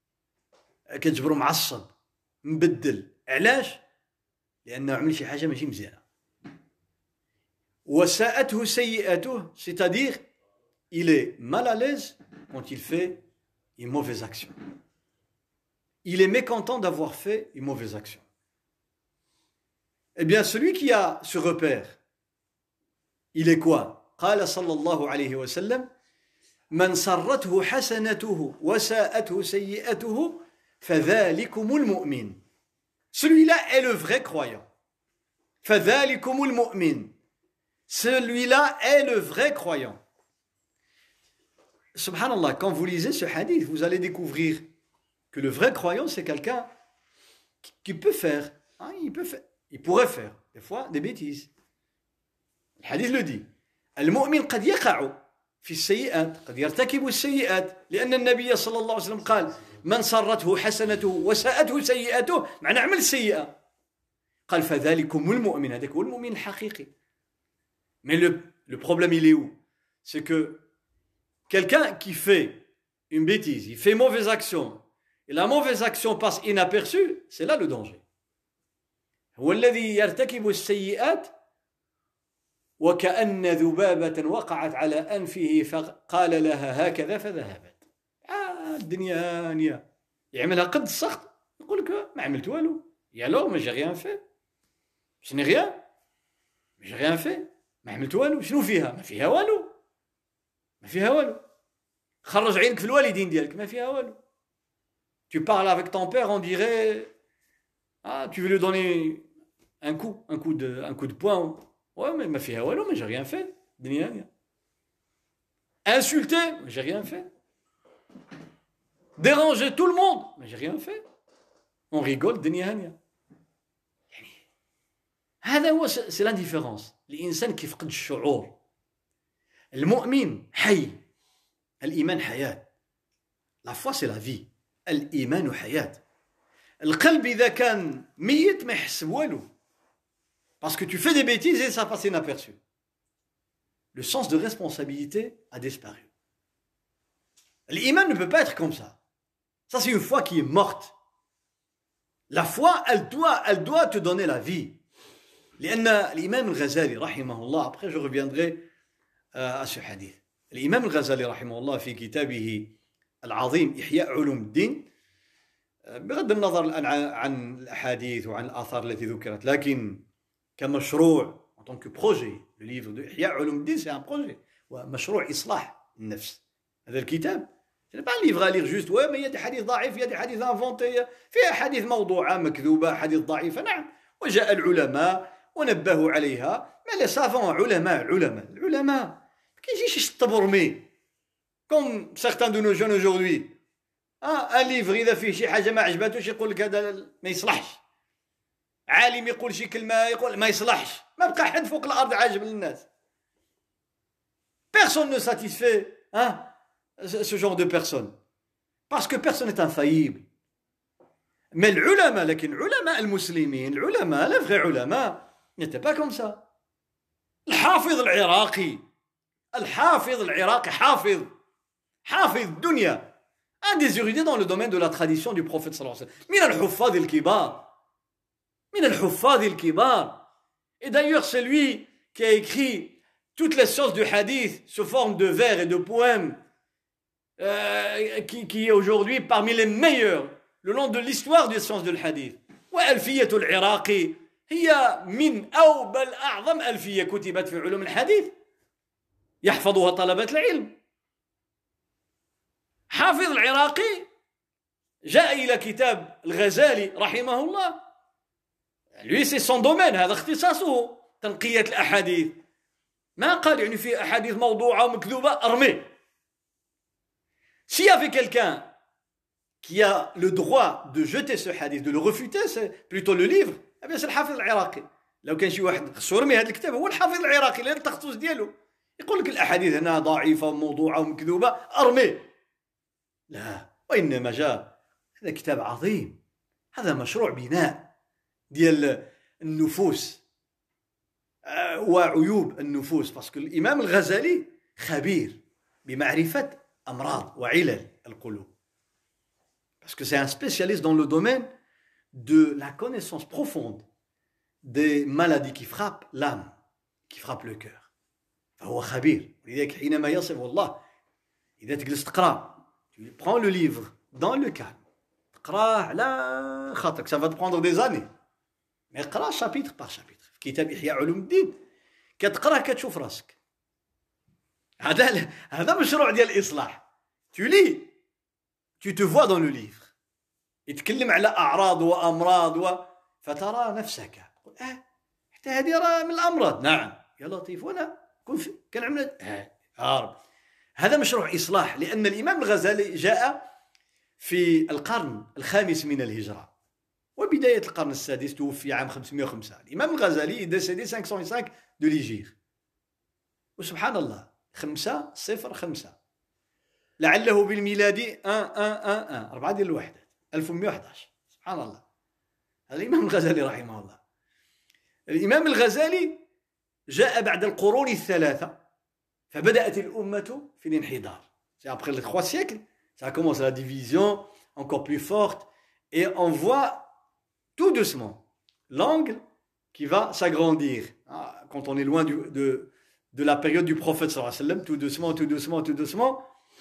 كتجبرو معصب. مبدل. علاش؟ لأنه عمل شي حاجة ماشي مزيانة. وساءته سيئته, c'est-à-dire il est mal à l'aise quand il fait une mauvaise action. Il est mécontent d'avoir fait une mauvaise action. Eh bien, celui qui a ce repère, il est quoi? قال صلى الله عليه وسلم: من سرته حسنته وساءته سيئته فذلكم المؤمن. Celui-là est le vrai croyant. فذلكم المؤمن. Celui-là est le vrai croyant. Subhanallah, quand vous lisez ce hadith, vous allez découvrir que le vrai croyant, c'est quelqu'un qui, qui peut faire, hein, il peut faire, il pourrait faire, des fois, des bêtises. Le hadith le dit. المؤمن قد يقع في السيئات، قد يرتكب السيئات، لأن النبي صلى الله عليه وسلم قال: من سرته حسنته وساءته سيئته، معنى عمل سيئة. قال: فذلكم المؤمن. هذاك هو المؤمن الحقيقي. Mais le, le problème, il est où? C'est que quelqu'un qui fait une bêtise, il fait une mauvaise action, et la mauvaise action passe inaperçue, c'est là le danger. هو الذي يرتكب السيئات وكأن ذبابة وقعت على أنفه فقال لها هكذا فذهبت. آه الدنيا هانية. يعملها قد السخط يقول لك ما عملت والو. يا لو ما جي ريان في شنو ريان ما جي ريان في ما عملت والو. شنو فيها؟ ما فيها والو ما فيها والو. خرج عينك في الوالدين ديالك ما فيها والو. Tu parles avec ton père, on dirait ah tu veux lui donner un coup un coup de un coup de poing. Ouais mais ما فيها والو ما j'ai rien fait. دنيا هانية. Insulter, mais j'ai rien fait. Déranger tout le monde, mais j'ai rien fait. On rigole, دنيا هانية. يعني هذا هو سي لانديفيرونس. الإنسان كيفقد الشعور. المؤمن حي. الإيمان حياة. La foi c'est la vie. الإيمان حياة. القلب إذا كان ميت ما يحس بوالو. Parce que tu fais des bêtises et ça passe inaperçu. Le sens de responsabilité a disparu. L'iman ne peut pas être comme ça. Ça, c'est une foi qui est morte. La foi, elle doit, elle doit te donner la vie. L'imam al-Ghazali, rahimahullah, après je reviendrai à ce hadith. L'imam al-Ghazali, rahimahullah, في كتابه العظيم إحياء علوم الدين, بغض النظر الآن عن الأحاديث وعن الآثار التي ذكرت, لكن كمشروع en tant que projet, le livre de Ihya Ulum Din, c'est un projet. ومشروع إصلاح النفس. هذا الكتاب ce n'est pas un livre à lire juste ouais mais il y a des hadiths ضعيف, il y a des hadiths inventés, فيها حديث موضوعة مكذوبة, حديث ضعيفة, نعم. وجاء العلماء ونبهوا عليها. mais les savants, علماء علماء العلماء ما كيجيش يشطبرمي comme certains de nos jeunes aujourd'hui. ah un livre إذا فيه شي حاجة ما عجباتوش يقول لك هذا ما يصلحش. عالم يقول شي كلمة يقول ما يصلحش. ما بقى حد فوق الأرض عاجب للناس. Personne ne satisfait hein, ce genre de personnes. Parce que personne n'est infaillible. Mais العلماء, لكن علماء المسلمين, العلماء, les vrais علماء, n'étaient pas comme ça. الحافظ العراقي, الحافظ العراقي, حافظ, حافظ الدنيا. Un des érudits dans le domaine de la tradition du prophète sallallahu alayhi wa sallam. من الحفاظ الكبار. من الحفاظ الكبار. Et d'ailleurs, c'est lui qui a écrit toutes les sciences du hadith sous forme de vers et de poèmes, euh, qui, qui est aujourd'hui parmi les meilleurs le long de l'histoire des sciences du hadith. وألفية العراقي هي من أوبل أعظم ألفية كتبت في علوم الحديث يحفظها طلبة العلم. حافظ العراقي جاء إلى كتاب الغزالي رحمه الله. lui c'est son domaine, هذا اختصاصه تنقية الأحاديث. ما قال يعني في أحاديث موضوعة ومكذوبة أرمي. S'il y avait quelqu'un qui a le droit de jeter ce hadith, de le refuter, c'est plutôt le livre, eh bien c'est الحافظ العراقي. لو كان شي واحد خصو يرمي هذا الكتاب هو الحافظ العراقي لأن التخصص ديالو. يقول لك الأحاديث هنا ضعيفة وموضوعة ومكذوبة أرمي. لا, وإنما جاء هذا كتاب عظيم. هذا مشروع بناء ديال النفوس وعيوب النفوس. parce que الإمام الغزالي خبير بمعرفة أمراض وعلل القلوب. parce que c'est un spécialiste dans le domaine de la connaissance profonde des maladies qui frappent l'âme, qui frappent le cœur. فهو خبير. لذلك حينما يصف والله إذا تجلس تقرأ, tu prends le livre dans le calme, تقرأه على خاطرك, ça va te prendre des années. mais اقرأ chapitre par chapitre. في كتاب إحياء علوم الدين كتقرأ كتشوف راسك. هذا هذا مشروع ديال الإصلاح. tu lis, tu te vois dans le livre. يتكلم على أعراض وأمراض و... فترى نفسك تقول اه حتى هذه راه من الأمراض. نعم يا لطيف وانا كن في... كان عمل اه عارف. هذا مشروع إصلاح. لأن الإمام الغزالي جاء في القرن الخامس من الهجرة وبداية القرن السادس, توفي عام خمسمائة وخمسة. الإمام الغزالي décédé cinq cent cinq de l'Hégire. وسبحان الله خمسة صفر خمسة لعله بالميلادي واحد واحد واحد واحد أربعة ديال الوحدات ألف ومئة وأحد عشر. سبحان الله. هذا الإمام الغزالي رحمه الله. الإمام الغزالي جاء بعد القرون الثلاثة فبدأت الأمة في الانحدار. C'est après les trois siècles, ça commence la division encore plus forte et on voit tout doucement l'angle qui va s'agrandir. Ah, quand on est loin du, de, de la période du prophète sallallahu alayhi wa sallam, tout doucement, tout doucement, tout doucement,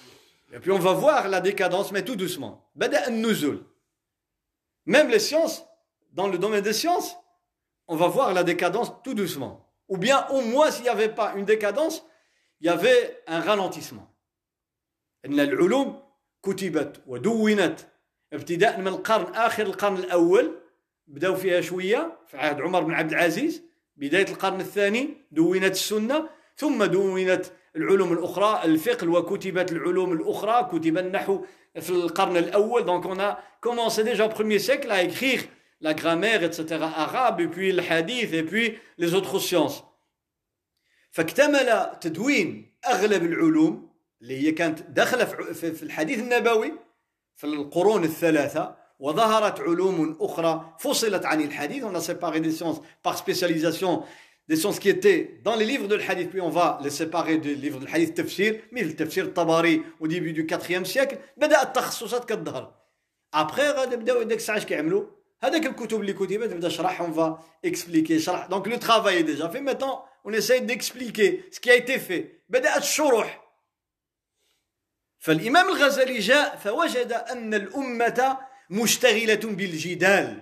Et puis on va voir la décadence, mais tout doucement. Bada an-nuzul. Même les sciences, dans le domaine des sciences, on va voir la décadence tout doucement. Ou bien au moins s'il n'y avait pas une décadence, il y avait un ralentissement. إن العلوم كتبت ودونت ابتداء من القرن آخر القرن الأول بدأوا فيها شوية في عهد عمر بن عبد العزيز بداية القرن الثاني دونت السنة ثم دونت العلوم الأخرى الفقه وكتبت العلوم الأخرى كتب النحو في القرن الأول donc on a commencé déjà au premier siècle à écrire la grammaire et cetera arabe et puis le hadith et puis les autres sciences فاكتمل تدوين أغلب العلوم اللي هي كانت داخلة في الحديث النبوي في القرون الثلاثة وظهرت علوم أخرى فصلت عن الحديث on a séparé des sciences par spécialisation des sciences qui étaient dans les livres de l'hadith puis on va les séparer des livres de l'hadith تفسير مثل تفسير الطبري au début du quatrième siècle بدأت التخصصات كتظهر après غادي بداو داك الساعة اش كيعملوا هذاك الكتب اللي كتبت بدا شرح on va expliquer شرح donc le travail est déjà fait maintenant on essaie d'expliquer ce qui a été fait بدأت الشروح فالإمام الغزالي جاء فوجد أن الأمة مشتغلة بالجدال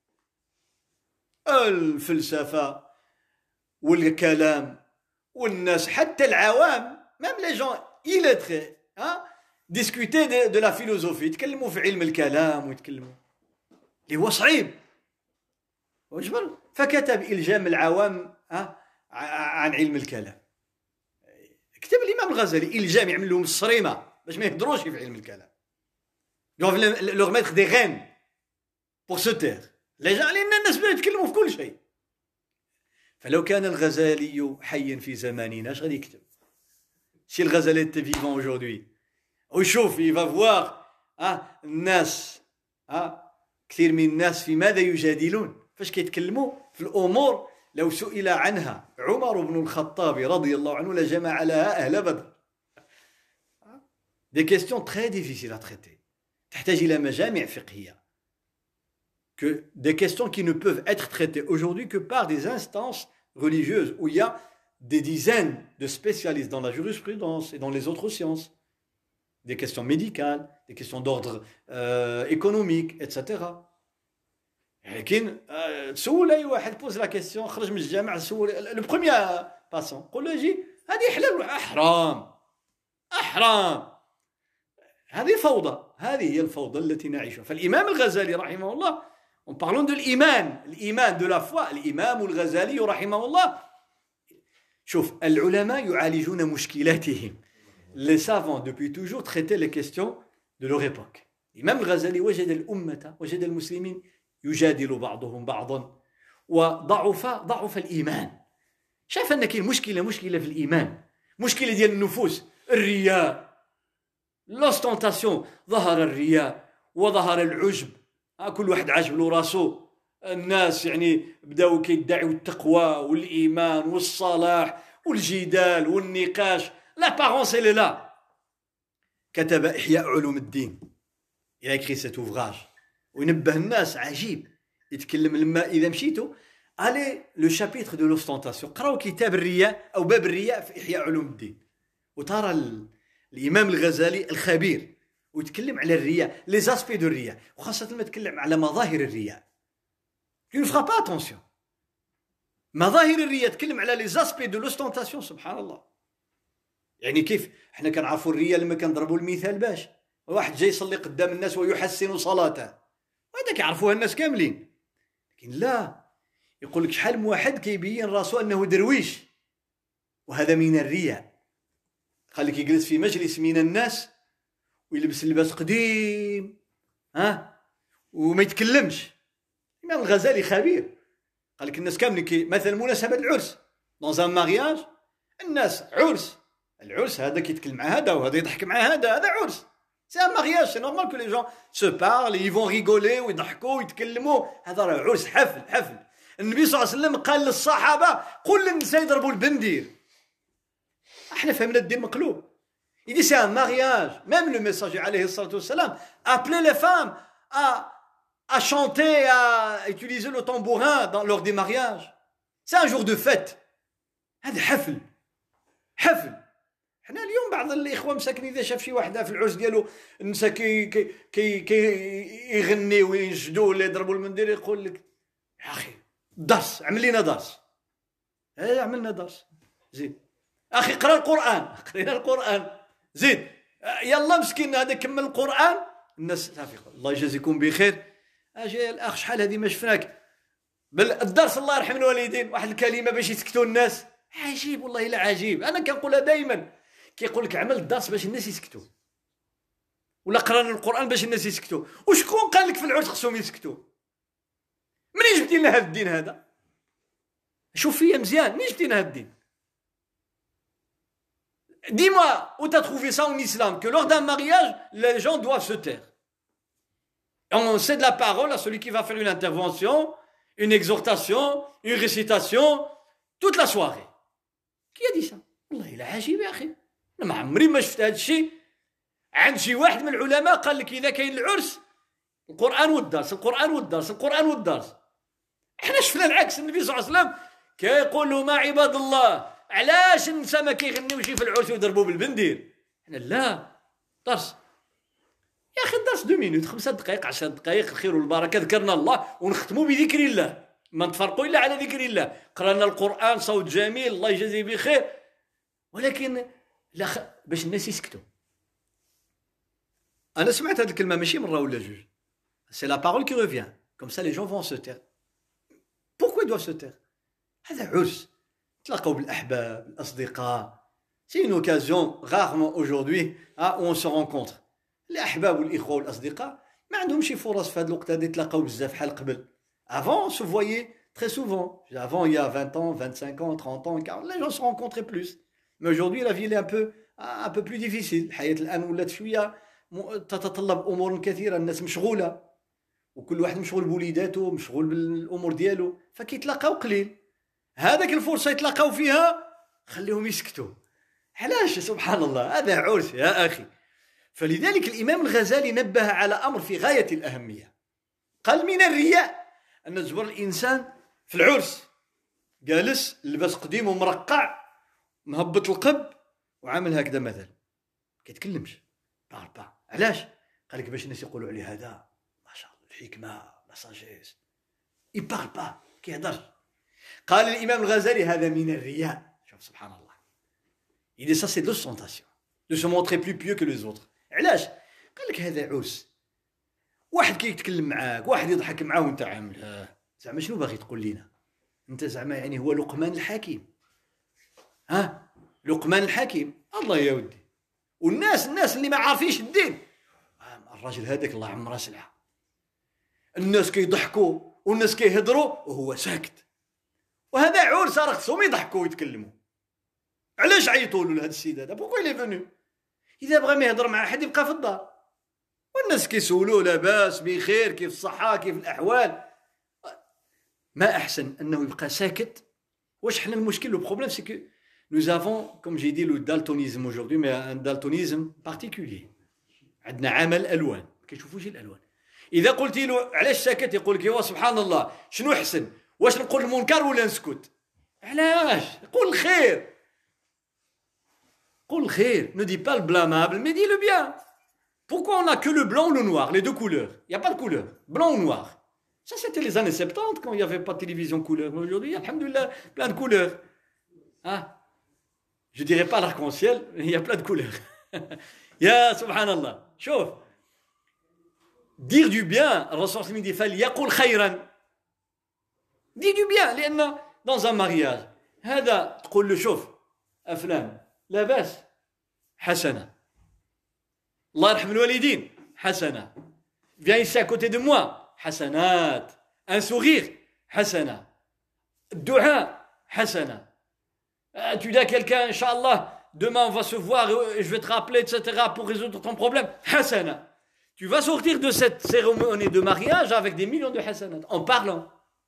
الفلسفة والكلام والناس حتى العوام même les gens illettrés hein discuter de, de la philosophie يتكلموا في علم الكلام ويتكلموا اللي هو صعيب وجبر فكتب إلجام العوام ها عن علم الكلام كتب الإمام الغزالي إلجام يعمل لهم الصريمة باش ما يهضروش في علم الكلام doivent leur mettre des rênes pour se taire les gens لأن الناس بدأوا يتكلموا في كل شيء فلو كان الغزالي حيا في زماننا اش غادي يكتب si le Ghazali était vivant aujourd'hui ويشوف il va voir ها الناس ها كثير من الناس في ماذا يجادلون فاش كيتكلموا في الأمور لو سئل عنها عمر بن الخطاب رضي الله عنه لجمع لها أهل بدر des questions très difficiles à traiter تحتاج إلى مجامع فقهية que des questions qui ne peuvent être traitées aujourd'hui que par des instances religieuses où il y a des dizaines de spécialistes dans la jurisprudence et dans les autres sciences des questions médicales des questions d'ordre euh, économique et cetera لكن تسول اي واحد بوز لا كيسيون خرج من الجامع سول لو بروميير باسون قول له جي هذه حلال ولا حرام احرام هذه فوضى هذه هي الفوضى التي نعيشها فالامام الغزالي رحمه الله on parlons de l'iman الايمان de la foi الامام الغزالي رحمه الله شوف العلماء يعالجون مشكلاتهم les savants depuis toujours traitaient les questions de leur époque الامام الغزالي وجد الامه وجد المسلمين يجادل بعضهم بعضا وضعف ضعف الإيمان شايف أن كاين مشكلة مشكلة في الإيمان مشكلة ديال النفوس الرياء l'ostentation ظهر الرياء وظهر العجب كل واحد عاجب له راسو الناس يعني بداو كيدعيو التقوى والإيمان والصلاح والجدال والنقاش l'apparence elle est là كتب إحياء علوم الدين il a écrit cet ouvrage وينبه الناس عجيب يتكلم لما إذا مشيتوا على لو شابيتر دو لوستونتاسيون قراو كتاب الرياء أو باب الرياء في إحياء علوم الدين وترى الإمام الغزالي الخبير ويتكلم على الرياء لي زاسبي دو الرياء وخاصة لما يتكلم على مظاهر الرياء tu ne feras pas attention مظاهر الرياء تكلم على لي زاسبي دو لوستونتاسيون سبحان الله يعني كيف احنا كنعرفوا الرياء لما كنضربوا المثال باش واحد جاي يصلي قدام الناس ويحسن صلاته وهذا كيعرفوها الناس كاملين لكن لا يقول لك شحال من واحد كيبين راسو انه درويش وهذا من الرياء خليك يجلس في مجلس من الناس ويلبس لباس قديم ها وما يتكلمش الإمام الغزالي خبير قال لك الناس كاملين كي مثلا مناسبة العرس dans un mariage الناس عرس العرس هذا كيتكلم مع هذا وهذا يضحك مع هذا هذا عرس c'est un mariage c'est normal que les gens se parlent et ils vont rigoler ويضحكوا ويتكلموا هذا راه عرس حفل حفل النبي صلى الله عليه وسلم قال للصحابة قل للنساء يضربوا البندير احنا فهمنا الدين مقلوب il dit c'est un mariage même le messager عليه الصلاة والسلام appelait les femmes à à chanter à utiliser le tambourin dans, lors des mariages c'est un jour de fête هذا حفل حفل حنا اليوم بعض الاخوه مساكين اذا شاف شي واحده في العرس ديالو النساء كي كي كي, كي يغنيو وينشدوا ولا يضربوا المنديل يقول لك يا اخي درس عمل لنا درس. ايه عملنا درس زيد اخي قرا القران قرينا القران زيد يلا مسكين هذا كمل القران الناس صافي الله يجازيكم بخير. اجي الاخ شحال هذه ما شفناك بل الدرس الله يرحم الوالدين واحد الكلمه باش يسكتوا الناس عجيب والله الا عجيب. انا كنقولها دائما كيقول لك عمل الدرس باش الناس يسكتوا ولا قرانا القران باش الناس يسكتوا. وشكون قال لك في العرس خصهم يسكتوا؟ منين جبتي لنا هذا الدين هذا؟ شوف فيا مزيان منين جبتي لنا هذا الدين؟ Dis-moi où t'as trouvé ça en islam que lors d'un mariage les gens doivent se taire. On cède la parole à celui qui va faire une intervention, une exhortation, une récitation toute la soirée. Qui a dit ça? والله إلا عجيب يا أخي. أنا ما عمري ما شفت هذا الشيء عند شي واحد من العلماء قال لك إذا كاين العرس القرآن والدرس القرآن والدرس القرآن والدرس. احنا شفنا العكس. النبي صلى الله عليه وسلم كيقول لهم عباد الله علاش النساء ما كيغنيوش في العرس ويضربوا بالبندير؟ حنا لا درس يا اخي الدرس دو مينوت خمسة دقائق عشر دقائق الخير والبركه ذكرنا الله ونختموا بذكر الله ما نتفرقوا الا على ذكر الله. قرانا القران صوت جميل الله يجازيه بخير ولكن لا خ... باش الناس يسكتوا. انا سمعت هذه الكلمه ماشي مره ولا جوج. سي لا بارول كي ريفيان كوم سا لي جون فون سو تير. بوركوا دوف سو تير؟ هذا عرس تلاقوا بالاحباب الاصدقاء. سي اون اوكازيون rarement aujourd'hui ah où on se rencontre. الاحباب والاخوه والاصدقاء ما عندهمش شي فرص في هذا الوقت هذا يتلاقاو بزاف بحال قبل. avant se voyait très souvent. avant il y a vingt ans vingt-cinq ans trente ans quarante les gens se rencontraient plus. mais aujourd'hui la vie est un peu un peu plus difficile. الحياه الان ولات شويه تتطلب امور كثيره. الناس مشغوله وكل واحد مشغول بوليداته مشغول بالامور ديالو فكيتلاقاو قليل. هذاك الفرصه يتلاقاو فيها خليهم يسكتوا. علاش؟ سبحان الله هذا عرس يا اخي. فلذلك الامام الغزالي نبه على امر في غايه الاهميه. قال من الرياء ان تجبر الانسان في العرس جالس لبس قديم ومرقع مهبط القب وعامل هكذا مثلا كيتكلمش بار با. علاش؟ قال لك باش الناس يقولوا عليه هذا ما شاء الله الحكمه لا ساجيس يبار با كيهضر. قال الامام الغزالي هذا من الرياء. شوف سبحان الله. il dit ça c'est de l'ostentation de se montrer plus pieux que les autres. علاش؟ قال لك هذا عرس واحد كيتكلم معاك واحد يضحك معاه وانت عامل زعما شنو باغي تقول لينا انت؟ زعما يعني هو لقمان الحكيم؟ ها لقمان الحكيم الله يا ودي. والناس الناس اللي ما عارفينش الدين الراجل هذاك الله عمره سلعه. الناس كيضحكوا والناس كيهضروا وهو ساكت. وهذا عرس راه خصهم يضحكوا ويتكلموا. علاش عيطوا له لهذا السيد هذا؟ بوكو لي فونو؟ اذا بغى ما يهضر مع احد يبقى في الدار والناس كيسولوه لاباس بخير كيف الصحه كيف الاحوال. ما احسن انه يبقى ساكت. واش حنا المشكل لو بروبليم سي كو nous avons comme j'ai dit le daltonisme aujourd'hui mais un daltonisme particulier. عندنا عمى الالوان ما كيشوفوش الالوان. اذا قلت له علاش ساكت يقول لك ايوا سبحان الله شنو احسن واش نقول المنكر ولا نسكت؟ علاش؟ قول الخير قول الخير. ne dis pas le blâmable mais dis le bien. pourquoi on n'a que le blanc ou le noir les deux couleurs? il y a pas de couleur blanc ou noir. ça c'était les années soixante-dix quand il y avait pas de télévision couleur. mais aujourd'hui alhamdoulilah plein de couleurs. ah je dirais pas l'arc-en-ciel mais il y a plein de couleurs. يا سبحان الله. شوف dire du bien الرسول صلى الله عليه وسلم dit فليقل خيرا. dis du bien لأن dans un mariage هذا تقول له شوف أفلان لا باس حسنة الله يرحم الوالدين حسنة viens ici à côté de moi حسنات un sourire حسنة الدعاء حسنة tu dis à quelqu'un Inch'Allah demain on va se voir et je vais te rappeler et cetera pour résoudre ton problème حسنة. tu vas sortir de cette cérémonie de mariage avec des millions de حسنات en parlant.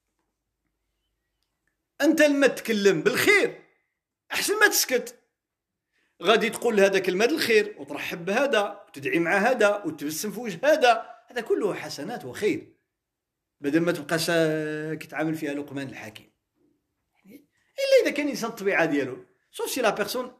أنت لما تتكلم بالخير أحسن ما تسكت. غادي تقول هذا كلمة الخير وترحب بهذا وتدعي مع هذا وتبسم في وجه هذا. هذا كله حسنات وخير بدل ما تبقى ساكت عامل فيها لقمان الحكيم. إلا إذا كان إنسان الطبيعة ديالو sauf si la personne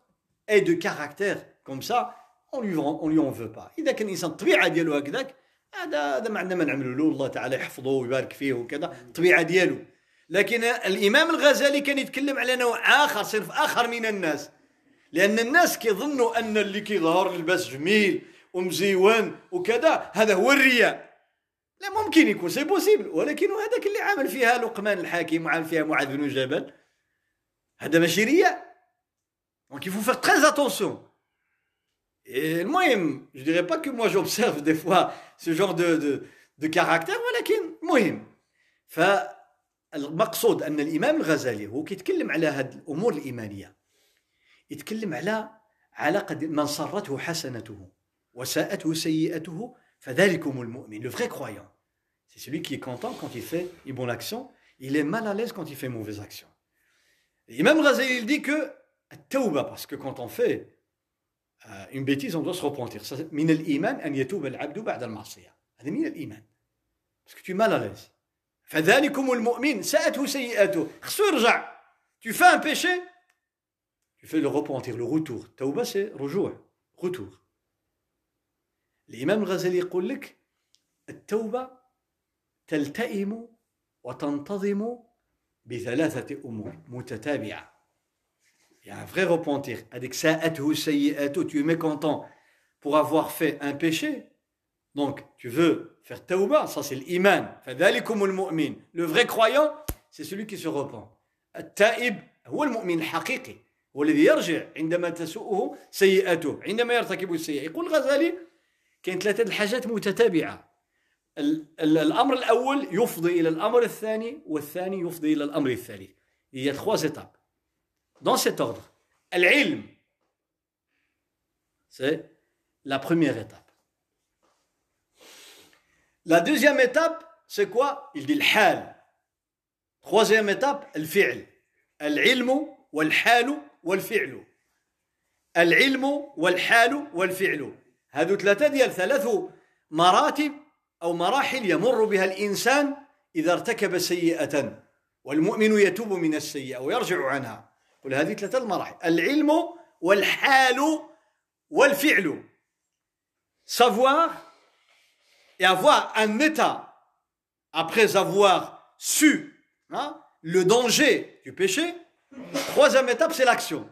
et de caractère comme ça, on lui on lui en veut pas. إذا كان الإنسان الطبيعة ديالو هكذاك هذا هذا ما عندنا ما نعملوا له الله تعالى يحفظه ويبارك فيه وكذا الطبيعة ديالو. لكن الإمام الغزالي كان يتكلم على نوع آخر صنف آخر من الناس لأن الناس كيظنوا أن اللي كيظهر لباس جميل ومزيون وكذا هذا هو الرياء. لا ممكن يكون سي بوسيبل ولكن هذاك اللي عمل فيها لقمان الحكيم وعمل فيها معاذ بن جبل هذا ماشي رياء. Donc il faut faire très attention. Et moi, je ne dirais pas que moi j'observe des fois ce genre de, de, de caractère ولكن مهم. فالمقصود أن الإمام الغزالي هو كيتكلم على هذه الأمور الإيمانية يتكلم على علاقة من صرته حسنته وساءته سيئته فذلكم المؤمن. Le vrai croyant, c'est celui qui est content quand il fait une bonne action, il est mal à l'aise quand il fait une mauvaise action. L'imam Ghazali il dit que التوبة, parce que quand on fait euh, une bêtise, on doit se repentir. Ça, من الإيمان أن يتوب العبد بعد المعصية. هذا من الإيمان. Parce que tu es mal à l'aise. فذلكم المؤمن ساءته سيئته. خصو يرجع. Tu fais un péché, tu fais le repentir, le retour. التوبة c'est رجوع, retour. الإمام الغزالي يقول لك التوبة تلتئم وتنتظم بثلاثة أمور متتابعة. Il y a un vrai repentir. Avec sa'atuhu sayyi'atu, tu es mécontent pour avoir fait un péché. Donc, tu veux faire tawbah, ça c'est l'iman. Fadhalikumul mu'min. Le vrai croyant, c'est celui qui se repent. التائب هو المؤمن الحقيقي هو الذي يرجع عندما تسوءه سيئاته عندما يرتكب السيئة. يقول الغزالي كاين ثلاثة الحاجات متتابعة. الأمر الأول يفضي إلى الأمر الثاني والثاني يفضي إلى الأمر الثالث. Il y a trois étapes. Dans cet ordre, al-ilm, c'est la première étape. La deuxième étape, c'est quoi? Il dit al-hal. Troisième étape, al-fi'l. Al-ilmu wal-halu wal-fi'lu. Al-ilmu wal-halu wal-fi'lu. هذو ثلاثة ديال ثلاث مراتب أو مراحل يمر بها الإنسان إذا ارتكب سيئة والمؤمن يتوب من السيئة ويرجع عنها. قل هذه ثلاثة المراحل العلم والحال والفعل. Savoir et avoir un état après avoir su hein, le danger du péché. Troisième étape c'est l'action.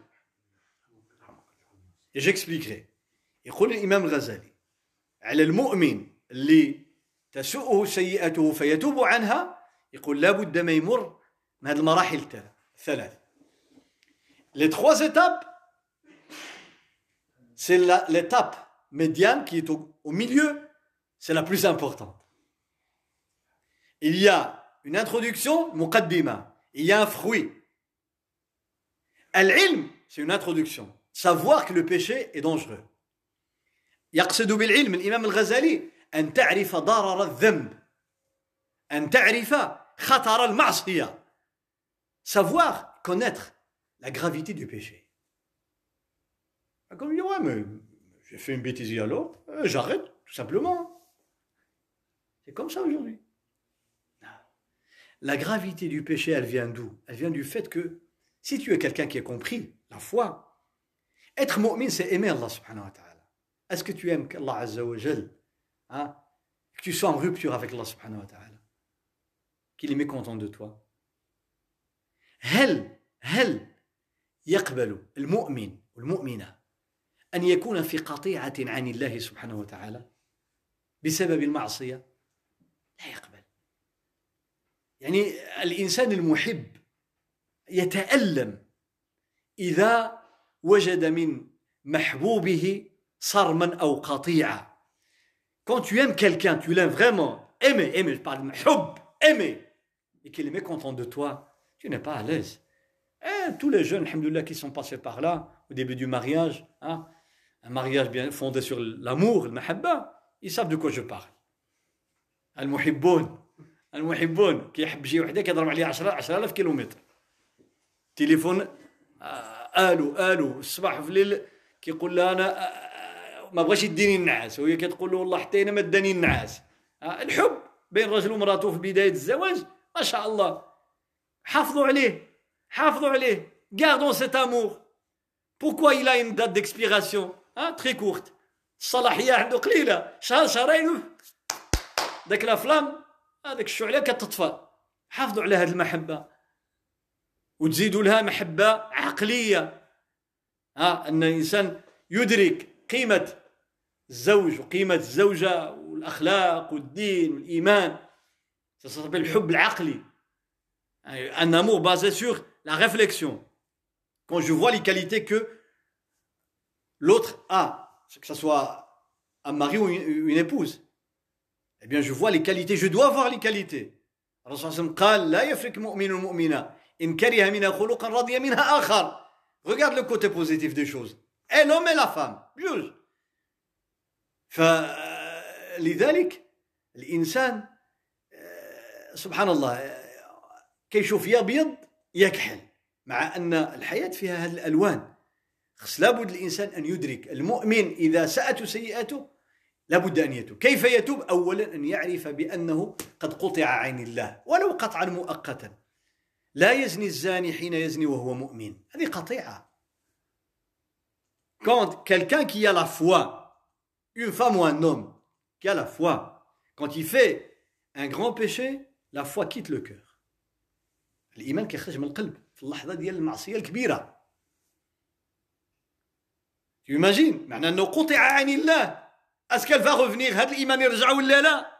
Et j'expliquerai. يقول الإمام الغزالي على المؤمن اللي تسوءه سيئته فيتوب عنها يقول لا بد ما يمر من هذه المراحل الثلاث. Les trois étapes, c'est la, l'étape médiane qui est au, au milieu, c'est la plus importante. Il y a une introduction, muqaddima, il y a un fruit. Al-ilm, c'est une introduction. Savoir que le péché est dangereux. يقصد بالعلم الإمام الغزالي أن تعرف ضرر الذنب أن تعرف خطر المعصية. Savoir, connaître la gravité du péché. Comme il dit, ouais, mais j'ai fait une bêtise alors, euh, j'arrête, tout simplement. C'est comme ça aujourd'hui. La gravité du péché, elle vient d'où? Elle vient du fait que, si tu es quelqu'un qui a compris la foi, être mu'min, c'est aimer Allah subhanahu wa ta'ala. Est-ce que tu aimes qu'Allah azza wa jal, hein, que tu sois en rupture avec Allah subhanahu wa ta'ala, qu'il est mécontent de toi? هل هل يقبل المؤمن والمؤمنة أن يكون في قطيعة عن الله سبحانه وتعالى بسبب المعصية؟ لا يقبل. يعني الإنسان المحب يتألم إذا وجد من محبوبه صرما أو قطيعة. Quand tu aimes quelqu'un, tu l'aimes vraiment, aimer, aimer, je parle de حب, aimer, et qu'il est mécontent de toi, tu n'es pas à l'aise. Et tous les jeunes, alhamdoulilah, qui sont passés par là, au début du mariage, hein, un mariage bien fondé sur l'amour, le mahabba, ils savent de quoi je parle. Al-muhibboun, al-muhibboun, qui يحب شي وحده كيضرب عليه عشرة آلاف كيلومتر. تليفون الو الو الصباح في الليل كيقول لها انا ما بغاش يديني النعاس وهي كتقول له والله حتى انا ما داني النعاس. الحب بين رجل ومراته في بدايه الزواج ما شاء الله. حافظوا عليه حافظوا عليه. Gardons cet amour. Pourquoi il a une date d'expiration hein, très courte. الصلاحية عنده قليلة شهر شهرين ذاك لا فلام هذاك الشعلة كتطفى. حافظوا على هذه المحبة وتزيدوا لها محبة عقلية ها أن الإنسان يدرك قيمة الزوج وقيمة الزوجة والأخلاق والدين والإيمان. Ça s'appelle الحب العقلي. Un amour basé sur la réflexion. Quand je vois les qualités que l'autre a, que ce soit un mari ou une, une épouse, eh bien je vois les qualités, je dois voir les qualités. الرسول صلى الله عليه وسلم قال لا يفرق مؤمن مؤمنا إن كره منها خلقا رضي منها آخر. Regarde le côté positif des choses. Et l'homme et la femme, juge. فلذلك الإنسان سبحان الله كيشوف يا أبيض يا كحل مع أن الحياة فيها هذه الألوان. خص لابد الإنسان أن يدرك المؤمن إذا ساءته سيئته لابد أن يتوب. كيف يتوب؟ أولا أن يعرف بأنه قد قطع عين الله ولو قطعا مؤقتا. لا يزني الزاني حين يزني وهو مؤمن. هذه قطيعة. Quand quelqu'un qui a la foi, une femme ou un homme qui a la foi, quand il fait un grand péché, la foi quitte le cœur. الإيمان كيخرج من القلب في اللحظة ديال المعصية الكبيرة. Tu imagines معنى أنه قطع عن الله. Est-ce qu'elle va revenir هذا الإيمان يرجع ولا لا؟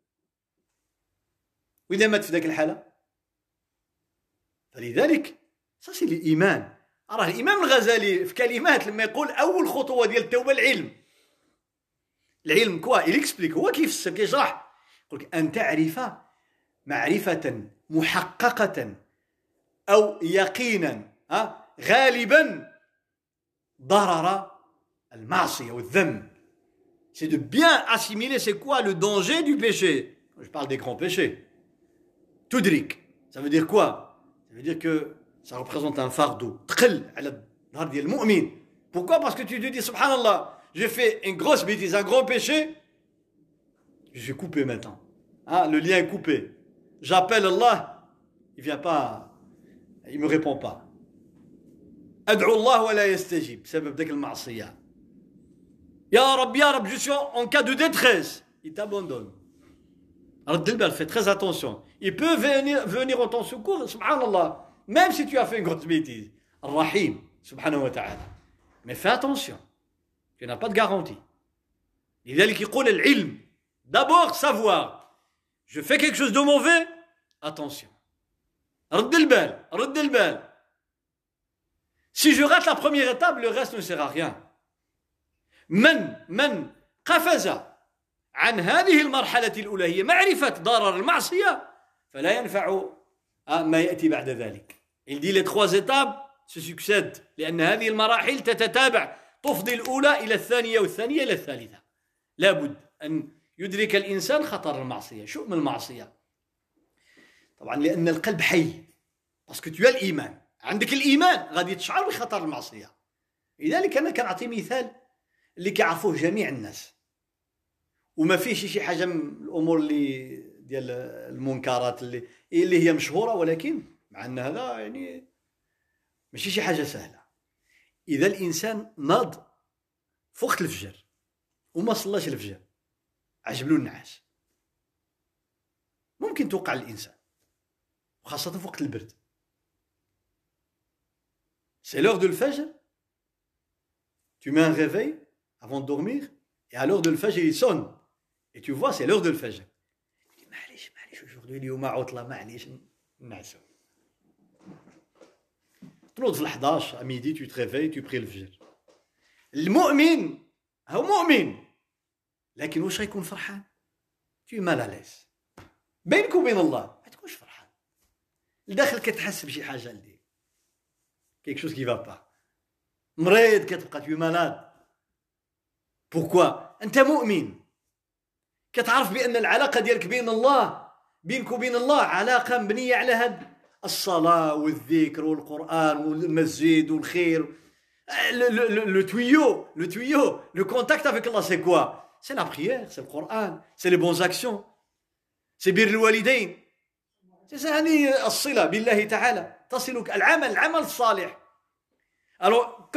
وإذا مات في ذاك الحالة فلذلك ça c'est الإيمان. راه الإمام الغزالي في كلمات لما يقول أول خطوة ديال التوبة العلم. العلم كوا il explique هو كيفسر كيشرح يقول لك أن تعرف معرفة محققة أو يقينا ها غالبا ضرر المعصية والذنب. C'est de bien assimiler c'est quoi le danger du péché. Je parle des grands péchés. تدرك ça veut dire quoi? Ça veut dire que ça représente un fardeau تقل على الظهر ديال المؤمن. Pourquoi? Parce que tu te dis subhanallah, j'ai fait une grosse bêtise, un grand péché, je suis coupé maintenant. Hein, le lien est coupé. J'appelle Allah, il vient pas, il me répond pas. أدعو الله ولا يستجيب بسبب ذاك المعصية. يا رب يا رب je suis en cas de détresse, il t'abandonne. رد البال, fais très attention. Il peut venir venir en ton secours, subhanallah, même si tu as fait une grosse bêtise. Rahim, subhanahu wa ta'ala. Mais fais attention, tu n'as pas de garantie. لذلك يقول العلم, d'abord savoir. Je fais quelque chose de mauvais, attention. رد البال, رد البال. Si je rate la première étape, le reste ne sert à rien. من من قفز عن هذه المرحلة الأولى هي معرفة ضرر المعصية فلا ينفع ما يأتي بعد ذلك. Il dit les trois étapes se succèdent لأن هذه المراحل تتتابع تفضي الأولى إلى الثانية والثانية إلى الثالثة. لابد أن يدرك الإنسان خطر المعصية شؤم المعصية. طبعا لأن القلب حي parce que tu as الإيمان. عندك الإيمان غادي تشعر بخطر المعصية. لذلك أنا كنعطي مثال اللي كيعرفوه جميع الناس وما فيش شي حاجة من الأمور اللي ديال المنكرات اللي اللي هي مشهورة ولكن مع أن هذا يعني ماشي شي حاجة سهلة. إذا الإنسان ناض في وقت الفجر وما صلاش الفجر عجبلو النعاس ممكن توقع الإنسان وخاصة في وقت البرد. C'est l'heure de le Fajr. Tu mets un réveil avant de dormir et à l'heure de le Fajr il sonne et tu vois c'est l'heure de le Fajr. Tu dis معليش معليش aujourd'hui اليوم عطلة معليش نعسو. تنوض في الحداش à midi tu te réveilles tu pries le Fajr. المؤمن هو مؤمن لكن واش غيكون فرحان؟ tu es mal à l'aise. بينك وبين الله ما تكونش فرحان. لداخل كتحس بشي حاجة لديك. quelque chose qui va pas. مريض كتبقى tu es malade. Pourquoi? أنت مؤمن كتعرف بأن العلاقة ديالك بين الله بينك وبين الله علاقة مبنية على هاد الصلاة والذكر والقرآن والمسجد والخير. Le, le, le, le tuyau, le tuyau, le contact avec Allah c'est quoi? C'est la prière, c'est le Coran, c'est les bonnes actions, c'est بر الوالدين. C'est ça هذه الصلة بالله تعالى تصلك العمل العمل الصالح. Alors quand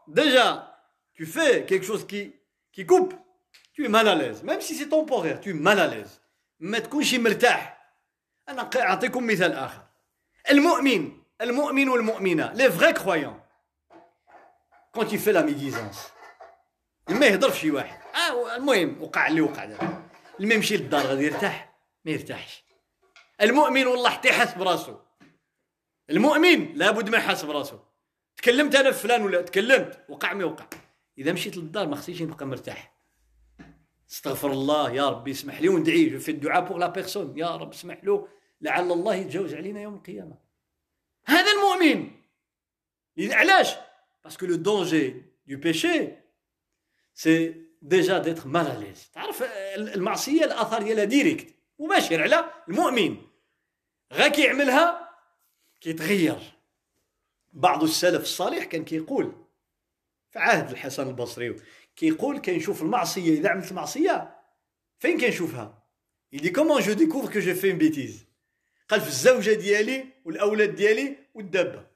déjà tu fais quelque chose qui, qui coupe, tu es mal à l'aise. Même si c'est temporaire, tu es mal à l'aise. ما تكونش مرتاح. أنا أعطيكم مثال آخر. المؤمن المؤمن والمؤمنة les vrais croyants quand il fait la médisance ما يهضر شي واحد اه المهم وقع اللي وقع دابا لما يمشي للدار غادي يرتاح ما يرتاحش. المؤمن والله حتى يحس براسو. المؤمن لابد ما يحس براسو. تكلمت انا في فلان ولا تكلمت وقع ما وقع، اذا مشيت للدار ما خصنيش نبقى مرتاح. استغفر الله يا ربي اسمح لي وندعي جو في الدعاء بوغ لا بيرسون يا رب اسمح له لعل الله يتجاوز علينا يوم القيامه. هذا المؤمن. علاش؟ باسكو لو دونجي دو بيشي سي ديجا ديتر مال ا ليز. تعرف المعصيه الاثار ديالها ديريكت مباشر على المؤمن. غا كيعملها كيتغير. بعض السلف الصالح كان كيقول في عهد الحسن البصري كيقول كنشوف المعصيه اذا عملت المعصيه فين كنشوفها؟ يدي كومون جو ديكوفر كو جو في ان بيتيز. قال في الزوجه ديالي والاولاد ديالي والدابه.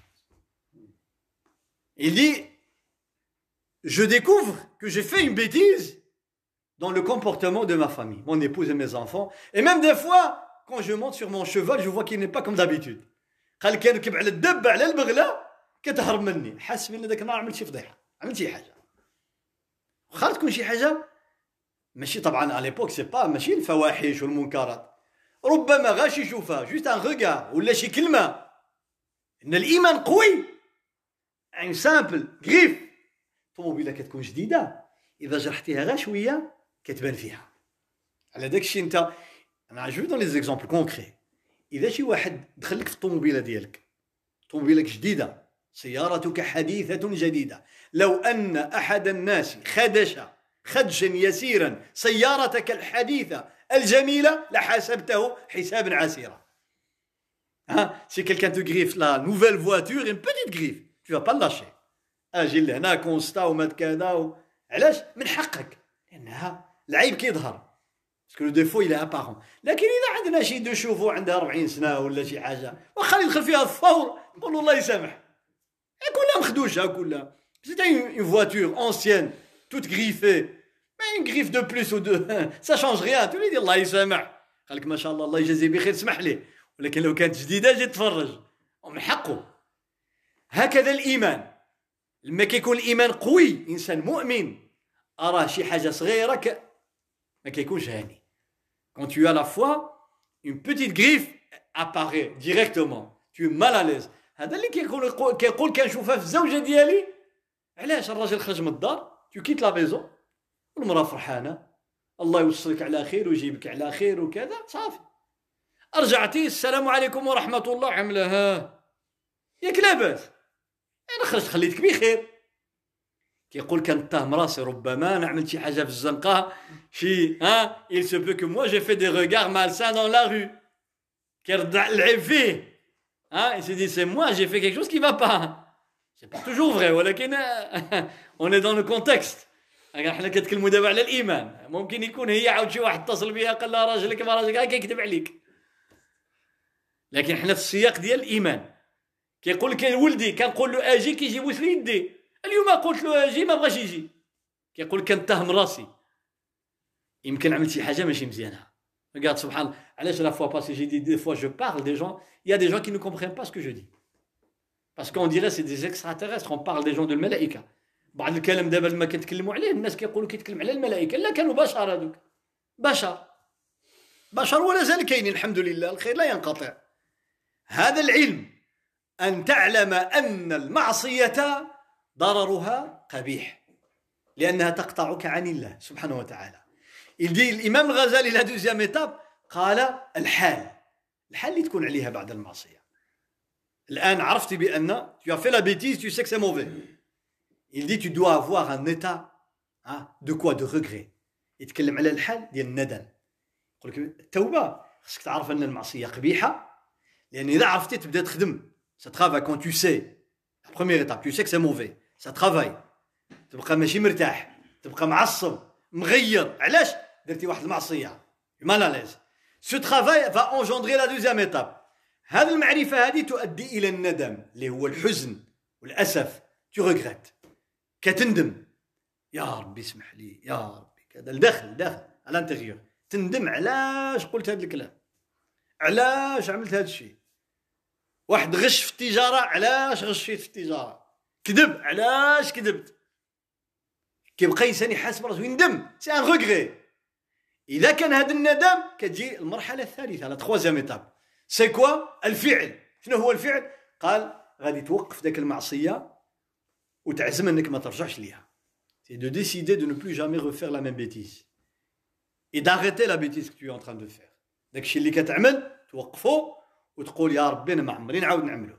يدي je découvre que j'ai fait une bêtise dans le comportement de ma famille, mon épouse et mes enfants, et même des fois quand je monte sur mon cheval je vois qu'il n'est pas comme d'habitude. قال كنركب على الدابه على البغله كتهرب مني، حاس بان داك النهار عملت شي فضيحه، عملت شي حاجه. واخا تكون شي حاجه ماشي طبعا على ليبوك سي با ماشي الفواحش والمنكرات، ربما غاش يشوفها جوست ان ريغار ولا شي كلمه. ان الايمان قوي. ان سامبل غريف طوموبيله كتكون جديده اذا جرحتيها غا شويه كتبان فيها. على داك الشيء انت انا جو دون لي زيكزامبل كونكري. اذا شي واحد دخل لك في الطوموبيله ديالك، طوموبيلك جديده، سيارتك حديثه جديده، لو ان احد الناس خدش خدشا يسيرا سيارتك الحديثه الجميله لحاسبته حسابا عسيرا. ها سي كيلكان تو غريف لا نوفيل فواتور ان بوتيت غريف tu vas pas lâcher. اجي لهنا كونستا ومات كذا و... علاش؟ من حقك لانها العيب كيظهر باسكو لو ديفو الى ابارون. لكن اذا عندنا شي دو شوفو عندها أربعين سنه ولا شي حاجه واخا يدخل فيها الثور نقولوا الله يسامح. كلها مخدوشه كلها. سيتي اون فواتور اونسيان توت غريفي ما اون غريف دو بلوس و دو سا شانج ريان تولي دير الله يسامح. قال لك ما شاء الله الله يجازيه بخير اسمح ليه. ولكن لو كانت جديده جي تفرج ومن حقه. هكذا الإيمان. لما كيكون الإيمان قوي إنسان مؤمن أراه شي حاجة صغيرة ك... ما كيكونش هاني. Quand tu as la foi, une petite griffe apparaît directement. Tu es mal à l'aise. هذا اللي كيقول كيقول كنشوفها في الزوجة ديالي. علاش الراجل خرج من الدار tu quittes la maison والمرأة فرحانة الله يوصلك على خير ويجيبك على خير وكذا صافي. رجعتي السلام عليكم ورحمة الله عملها ياك لاباس انا خرجت خليتك بخير. كيقول كنتهم راسي ربما انا عملت شي حاجه في الزنقه شي ها il se peut que moi j'ai fait des regards malsains dans la rue. كيرد العيب فيه ها il se dit c'est moi j'ai fait quelque chose qui va pas. c'est pas toujours vrai ولكن on est dans le contexte. حنا كنتكلموا دابا على الايمان. ممكن يكون هي عاود شي واحد اتصل بها قال لها راجلك ما راجلك كيكذب عليك. لكن حنا في السياق ديال الايمان. كيقول لك ولدي كنقول له اجي كيجي يبوس لي يدي. اليوم قلت له اجي ما بغاش يجي. كيقول كنتهم راسي يمكن عملت شي حاجه ماشي مزيانه. regarde سبحان الله علاش لا فوا باسي جي دي دي فوا جو بارل دي جون il y a des gens qui ne comprennent pas ce que je dis parce qu'on dirait c'est des extraterrestres. on parle des gens de الملائكه. بعض الكلام دابا لما كنتكلموا عليه الناس كيقولوا كيتكلم على الملائكه. لا كانوا بشر هذوك بشر بشر ولا زال كاينين الحمد لله الخير لا ينقطع. هذا العلم أن تعلم أن المعصية ضررها قبيح لأنها تقطعك عن الله سبحانه وتعالى. il dit الإمام الغزالي la deuxième étape قال الحال الحال اللي تكون عليها بعد المعصية. الآن عرفتي بأن tu as fait la bêtise tu sais que c'est mauvais. il dit tu dois avoir un état de quoi de regret. يتكلم على الحال ديال الندم. يقول لك التوبة خصك تعرف أن المعصية قبيحة لأن إذا عرفتي تبدأ تخدم. Ça travaille quand tu sais. La première étape, tu sais que c'est mauvais. Ça travaille. تبقى ماشي مرتاح، تبقى معصب، مغير. علاش؟ درتي واحد المعصية. mal à l'aise. Ce travail va engendrer la deuxième étape. هذه المعرفة هذه تؤدي إلى الندم اللي هو الحزن والأسف. Tu regrettes. كتندم يا ربي اسمح لي يا ربي كذا الداخل داخل على الانتيريور تندم علاش قلت هذا الكلام علاش عملت هذا الشيء واحد غش في التجاره علاش غشيت في التجاره كذب علاش كذبت كيبقى انسان يحاسب راسو يندم سي ان ريغري اذا كان هذا الندم كتجي المرحله الثالثه لا تخوازيام ايتاب سي كوا الفعل شنو هو الفعل قال غادي توقف داك المعصيه وتعزم انك ما ترجعش ليها c'est de décider de ne plus jamais refaire la même bêtise et d'arrêter la bêtise que tu es en train de faire داكشي اللي كتعمل توقفو وتقول يا ربي انا ما عمري نعاود نعملو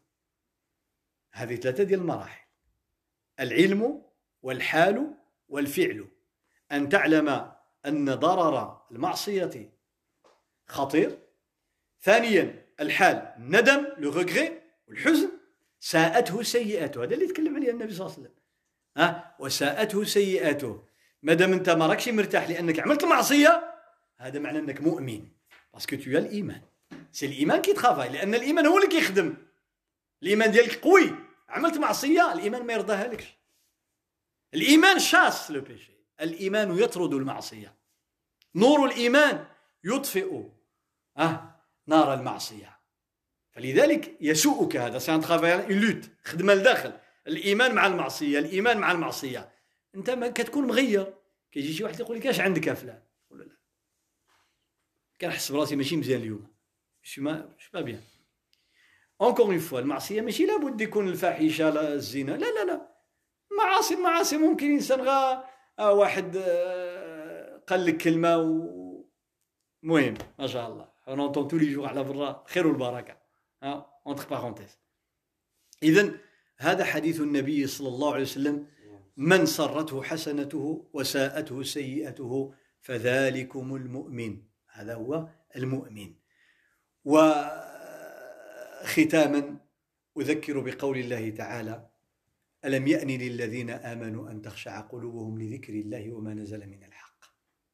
هذه ثلاثه ديال المراحل العلم والحال والفعل ان تعلم ان ضرر المعصيه خطير ثانيا الحال الندم لو ريغري والحزن ساءته سيئاته هذا اللي تكلم عليه النبي صلى الله عليه وسلم ها وساءته سيئاته مادام انت ما راكش مرتاح لانك عملت المعصيه هذا معناه انك مؤمن باسكو تو الايمان سي الايمان كي ترافاي لان الايمان هو اللي كيخدم الايمان ديالك قوي عملت معصيه الايمان ما يرضاها لكش الايمان شاس لو بيشي الايمان يطرد المعصيه نور الايمان يطفئ اه نار المعصيه فلذلك يسوءك هذا سي ان ترافاي اون لوت خدمه لداخل الايمان مع المعصيه الايمان مع المعصيه انت ما كتكون مغير كيجي شي واحد يقول لك اش عندك يا فلان ولا لا كنحس براسي ماشي مزيان اليوم شي ما شي با بيان اونكور اون فوا المعصيه ماشي لابد يكون الفاحشه لا الزنا لا لا لا معاصي معاصي ممكن انسان غا آه واحد آه قال لك كلمه و مهم ما شاء الله on entend tous les jours على برا خير والبركه ها entre parenthèses اذا هذا حديث النبي صلى الله عليه وسلم من سرته حسنته وساءته سيئته فذلكم المؤمن هذا هو المؤمن وختاما أذكر بقول الله تعالى ألم يأن للذين آمنوا أن تخشع قلوبهم لذكر الله وما نزل من الحق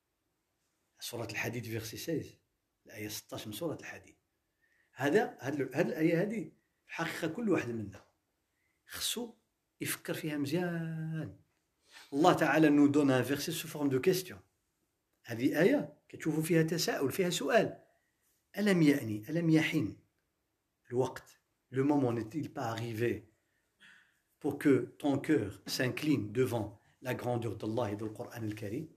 سورة الحديد فيرسي ستة عشر الآية ستة عشر من سورة الحديد هذا هذه الآية هذه الحقيقة كل واحد منا خصو يفكر فيها مزيان الله تعالى نو دون ان فيرسي سو فورم دو كيستيون هذه آية كتشوفوا فيها تساؤل فيها سؤال ألم يأني ألم يحن الوقت le moment n'est-il pas arrivé pour que ton cœur s'incline devant la grandeur d'Allah et du Coran الكريم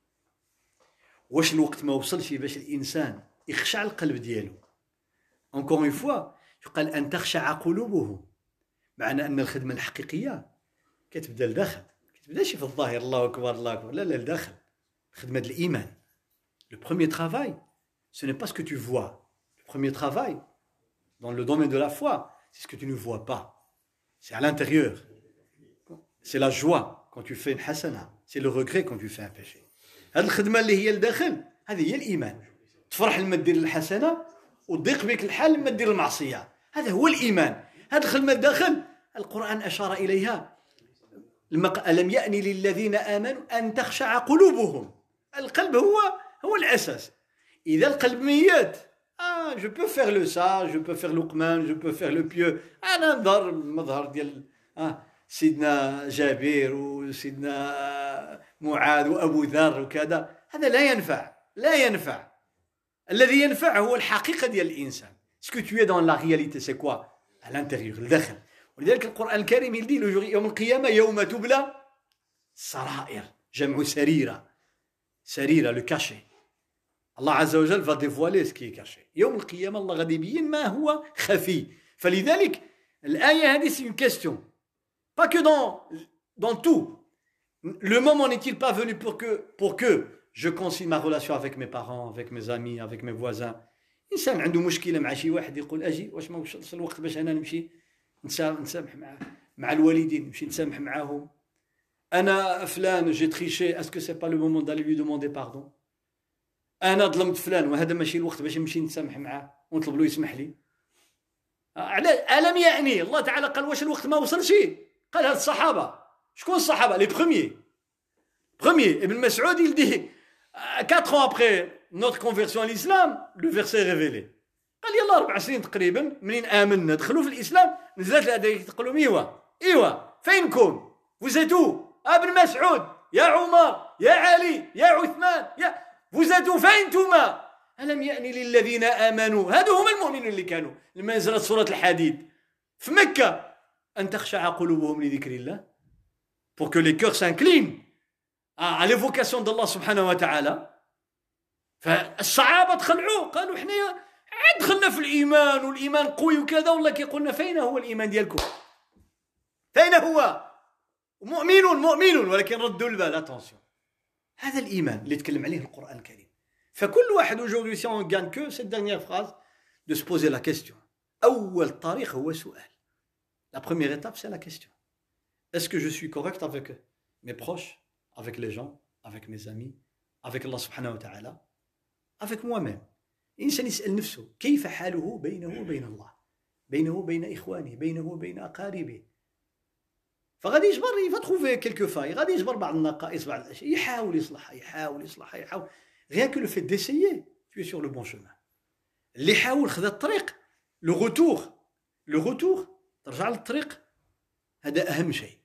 واش الوقت ما وصلش باش الإنسان يخشع القلب ديالو encore une fois يقال أن تخشع قلوبهم معنى أن الخدمة الحقيقية كتبدا لداخل كتبداش في الظاهر الله أكبر الله أكبر لا لا لداخل خدمة الإيمان le premier travail ce n'est pas ce que tu vois le premier travail dans le domaine de la foi c'est ce que tu ne vois pas c'est à l'intérieur c'est la joie quand tu fais une hasana c'est le regret quand tu fais un péché هذه الخدمة اللي هي لداخل هذه هي الإيمان تفرح لما دير الحسنة وتضيق بك الحال لما دير المعصية هذا هو الإيمان هذه الخدمة الداخل القرآن أشار إليها ألم يأن للذين آمنوا أن تخشع قلوبهم القلب هو هو الأساس إذا القلب ميت آه je peux faire le sage je peux faire l'uqman je peux faire le pieux أنا نظهر المظهر ديال آه سيدنا جابر وسيدنا معاذ وأبو ذر وكذا هذا لا ينفع لا ينفع الذي ينفع هو الحقيقة ديال الإنسان ce que tu es dans la réalité c'est quoi à l'intérieur الداخل ولذلك القرآن الكريم يدي له يوم القيامة يوم تبلى السرائر جمع سريرة سريرة le cachet الله عز وجل va dévoiler ce qui est caché يوم القيامة الله غادي يبين ما هو خفي فلذلك الآية هذه c'est une question pas que dans dans tout le moment n'est-il pas venu pour que pour que je concilie ma relation avec mes parents avec mes amis avec mes voisins إنسان عنده مشكلة مع شي واحد يقول أجي واش ما وصلش الوقت باش أنا نمشي نسامح مع مع الوالدين نمشي نسامح معاهم أنا فلان جي تريشي اسكو سي با لو مومون دالي لوي دوموندي باردون أنا ظلمت فلان وهذا ماشي الوقت باش نمشي نسامح معاه ونطلب له يسمح لي على ألم يعني الله تعالى قال واش الوقت ما وصلش قال هاد الصحابة شكون الصحابة لي بروميي بروميي ابن مسعود يلدي quatre ans après notre conversion à l'islam le verset est révélé قال يلا أربع سنين تقريبا منين آمنا دخلوا في الإسلام نزلت الآية تقولوا إيوا إيوا فينكم Vous êtes où? ابن مسعود يا عمر يا علي يا عثمان يا Vous êtes où? فين انتما؟ ألم يأني للذين آمنوا هذو هم المؤمنون اللي كانوا لما نزلت سورة الحديد في مكة أن تخشع قلوبهم لذكر الله pour que les cœurs s'inclinent à l'évocation d'Allah سبحانه وتعالى. فالصحابة تخلعوه قالوا احنا عاد دخلنا في الإيمان والإيمان قوي وكذا والله كيقولنا فين هو الإيمان ديالكم؟ فين هو؟ مؤمنون مؤمنون ولكن ردوا البال. اتونسيون هذا الإيمان اللي تكلم عليه القرآن الكريم. فكل واحد aujourd'hui si on gagne que cette dernière phrase de se poser la question. أول طريق هو سؤال. La première étape c'est la question. Est-ce que je suis correct avec mes proches, avec les gens, avec mes amis, avec Allah subhanahu wa ta'ala, avec moi-même? الإنسان يسأل نفسه كيف حاله بينه وبين الله، بينه وبين إخوانه، بينه وبين أقاربه. فغادي يجبر يفا تخوفي كيلكو فاي، غادي يجبر بعض النقائص بعض الأشياء، يحاول يصلحها يحاول يصلحها يحاول. Rien que le fait d'essayer, tu es sur le bon chemin. اللي حاول خذا الطريق لو غوتور، لو غوتور ترجع للطريق، هذا أهم شيء.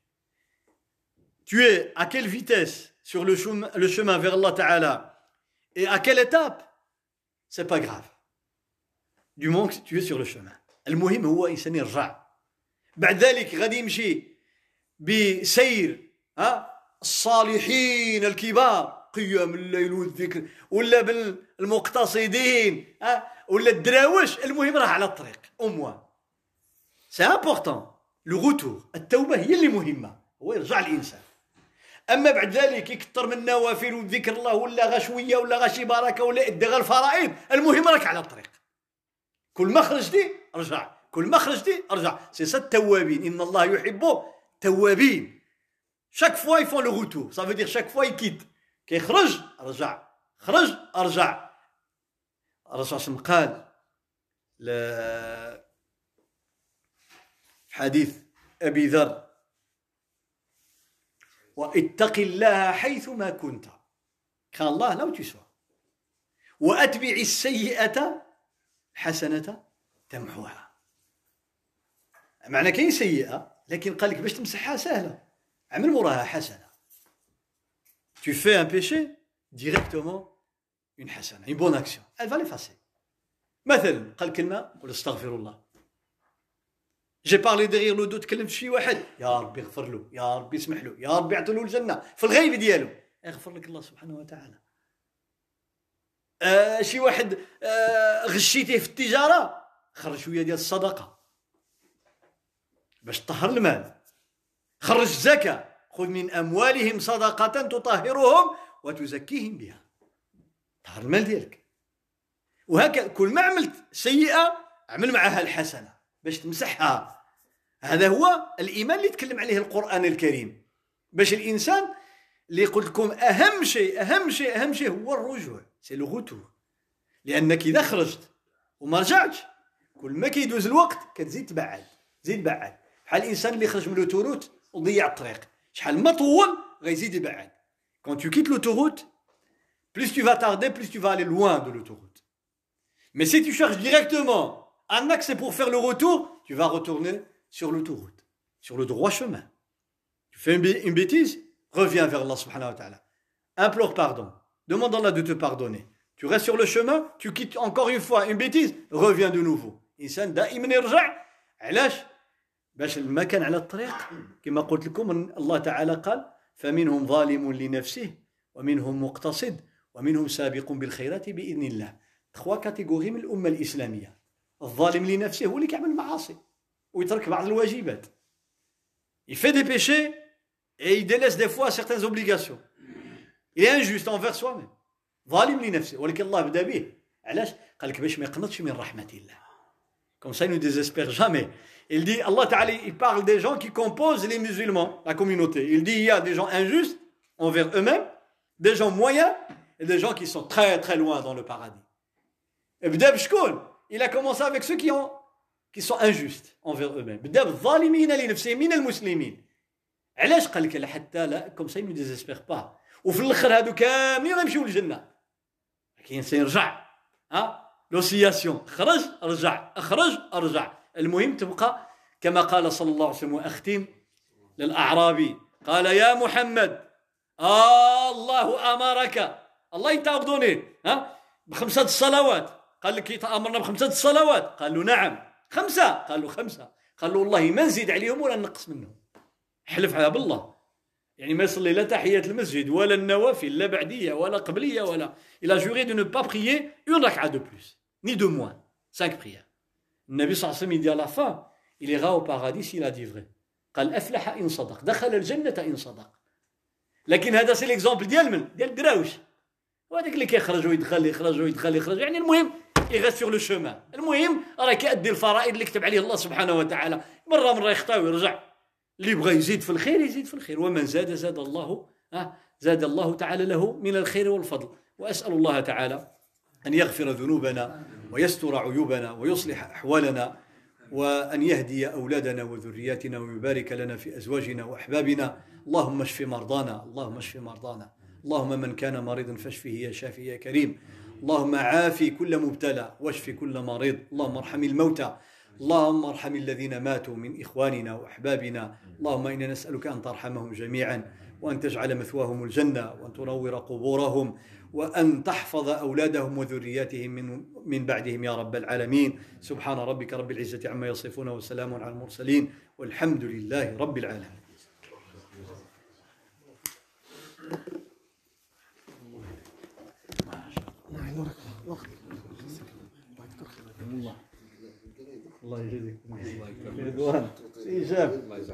Tu es à quelle vitesse sur le chemin, le chemin vers Allah Ta'ala et à quelle étape, c'est pas grave. Du moment que tu es sur le chemin. المهم هو إنسان يرجع. بعد ذلك غادي يمشي بسير ها الصالحين الكبار قيام الليل والذكر ولا بالمقتصدين ها ولا الدراوش. المهم راه على الطريق au moins. C'est important. Le retour. التوبة هي اللي مهمة. هو يرجع الإنسان. أما بعد ذلك يكثر من النوافل وذكر الله ولا غا شوية ولا غا شي بركة ولا يدي غا الفرائض، المهم راك على الطريق. كل ما خرجتي ارجع، كل ما خرجتي ارجع. سي سا التوابين، إن الله يحب توابين. chaque fois ils font le retour. Ça veut dire chaque fois ils quittent. كيخرج ارجع، خرج ارجع. الرسول صلى الله عليه وسلم قال في حديث أبي ذر واتق الله حيثما كنت. كان الله là où tu sois. وأتبع السيئة حسنة تمحوها. معنى كاين سيئة لكن قال لك باش تمسحها سهلة، عمل موراها حسنة. Tu fais un péché directement une حسنة، une bonne action. Elle va l'effacer. مثلا قال كلمة قل استغفر الله. J'ai parlé derrière le dos تكلمت شي واحد، يا ربي اغفر له، يا ربي اسمح له، يا ربي اعطي له الجنة في الغيب ديالو، يغفر لك الله سبحانه وتعالى. آه شي واحد آه غشيتيه في التجارة، خرج شوية ديال الصدقة باش تطهر المال. خرج الزكاة، خذ من أموالهم صدقة تطهرهم وتزكيهم بها. طهر المال ديالك. وهكذا كل ما عملت سيئة عمل معها الحسنة باش تمسحها. هذا هو الإيمان اللي تكلم عليه القرآن الكريم. باش الإنسان اللي قلت لكم أهم شيء أهم شيء أهم شيء هو الرجوع، سي لو غوتور. لأنك إذا خرجت وما رجعتش كل ما كيدوز الوقت كتزيد تبعد، زيد بعد. بحال الإنسان اللي خرج من لوتوروت وضيع الطريق، شحال ما طول غيزيد يبعد. Quand tu quittes l'autoroute, plus tu vas tarder, plus tu vas aller loin de l'autoroute. Mais si tu cherches directement un axe pour faire le retour, tu vas retourner sur l'autoroute, sur le droit chemin. Tu fais une bêtise, reviens vers Allah subhanahu wa ta'ala. Implore pardon. Demande à Allah de te pardonner. Tu restes sur le chemin, tu quittes encore une fois une bêtise, reviens de nouveau. الإنسان دائما يرجع. علاش؟ باش ما كان على الطريق كما قلت لكم الله تعالى قال فمنهم ظالم لنفسه ومنهم مقتصد ومنهم سابق بالخيرات بإذن الله. trois catégories من الأمة الإسلامية. الظالم لنفسه هو اللي كيعمل معاصي ويترك بعض الواجبات. Il fait des péchés et il délaisse des fois certaines obligations. Il est injuste envers soi-même. ظالم لنفسه. ولكن الله بدا به. علاش؟ قال لك باش ما يقنطش من رحمة الله. Comme ça il ne désespère jamais. Il dit, Allah Ta'ala, il parle des gens qui composent les musulmans, la communauté. Il dit, il y a des gens injustes envers eux-mêmes, des gens moyens et des gens qui sont très très loin dans le paradis. Et b'dab shkoun, il a commencé avec ceux qui, ont, qui sont injustes envers eux-mêmes. B'dab zalimina li nafsihim min al-muslimin. علاش قال لك حتى لا comme ça il ne désespère pas. وفي الاخر هادو كاملين غيمشيو للجنة. كاين سيرجع. ها؟ l'oscillation. خرج ارجع، اخرج ارجع. المهم تبقى كما قال صلى الله عليه وسلم وأختم للأعرابي قال يا محمد آه الله أمرك الله يتعبدوني ها بخمسة الصلوات. قال لك يتأمرنا بخمسة الصلوات؟ قال له نعم. خمسة؟ قال له خمسة. قال له والله ما نزيد عليهم ولا نقص منهم. حلفها بالله. يعني ما يصلي لا تحية المسجد ولا النوافل لا بعدية ولا قبلية ولا. Il a juré de ne pas prier une raka'a de plus ni de moins. Cinq prières. النبي صلى الله عليه وسلم il dit à la fin il ira au paradis s'il a dit vrai. قال أفلح إن صدق دخل الجنة إن صدق. لكن هذا سي ليكزامبل ديال من ديال الدراوش. وهذاك اللي كيخرج ويدخل يخرج ويدخل يخرج يعني المهم يغير سور لو شومان. المهم راه كيأدي الفرائض اللي كتب عليه الله سبحانه وتعالى. مره مره يخطا ويرجع. اللي بغى يزيد في الخير يزيد في الخير ومن زاد زاد الله ها زاد الله تعالى له من الخير والفضل. وأسأل الله تعالى أن يغفر ذنوبنا ويستر عيوبنا ويصلح أحوالنا وأن يهدي أولادنا وذرياتنا ويبارك لنا في أزواجنا وأحبابنا. اللهم اشف مرضانا اللهم اشف مرضانا. اللهم من كان مريضا فاشفه يا شافي يا كريم. اللهم عافي كل مبتلى واشف كل مريض. اللهم ارحم الموتى. اللهم ارحم الذين ماتوا من إخواننا وأحبابنا. اللهم إنا نسألك أن ترحمهم جميعا وأن تجعل مثواهم الجنة وأن تنور قبورهم وأن تحفظ أولادهم وذرياتهم من, من بعدهم يا رب العالمين. سبحان ربك رب العزة عما يصفون وسلام على المرسلين والحمد لله رب العالمين. الله يجزيك الله يجزيك رضوان إيجاب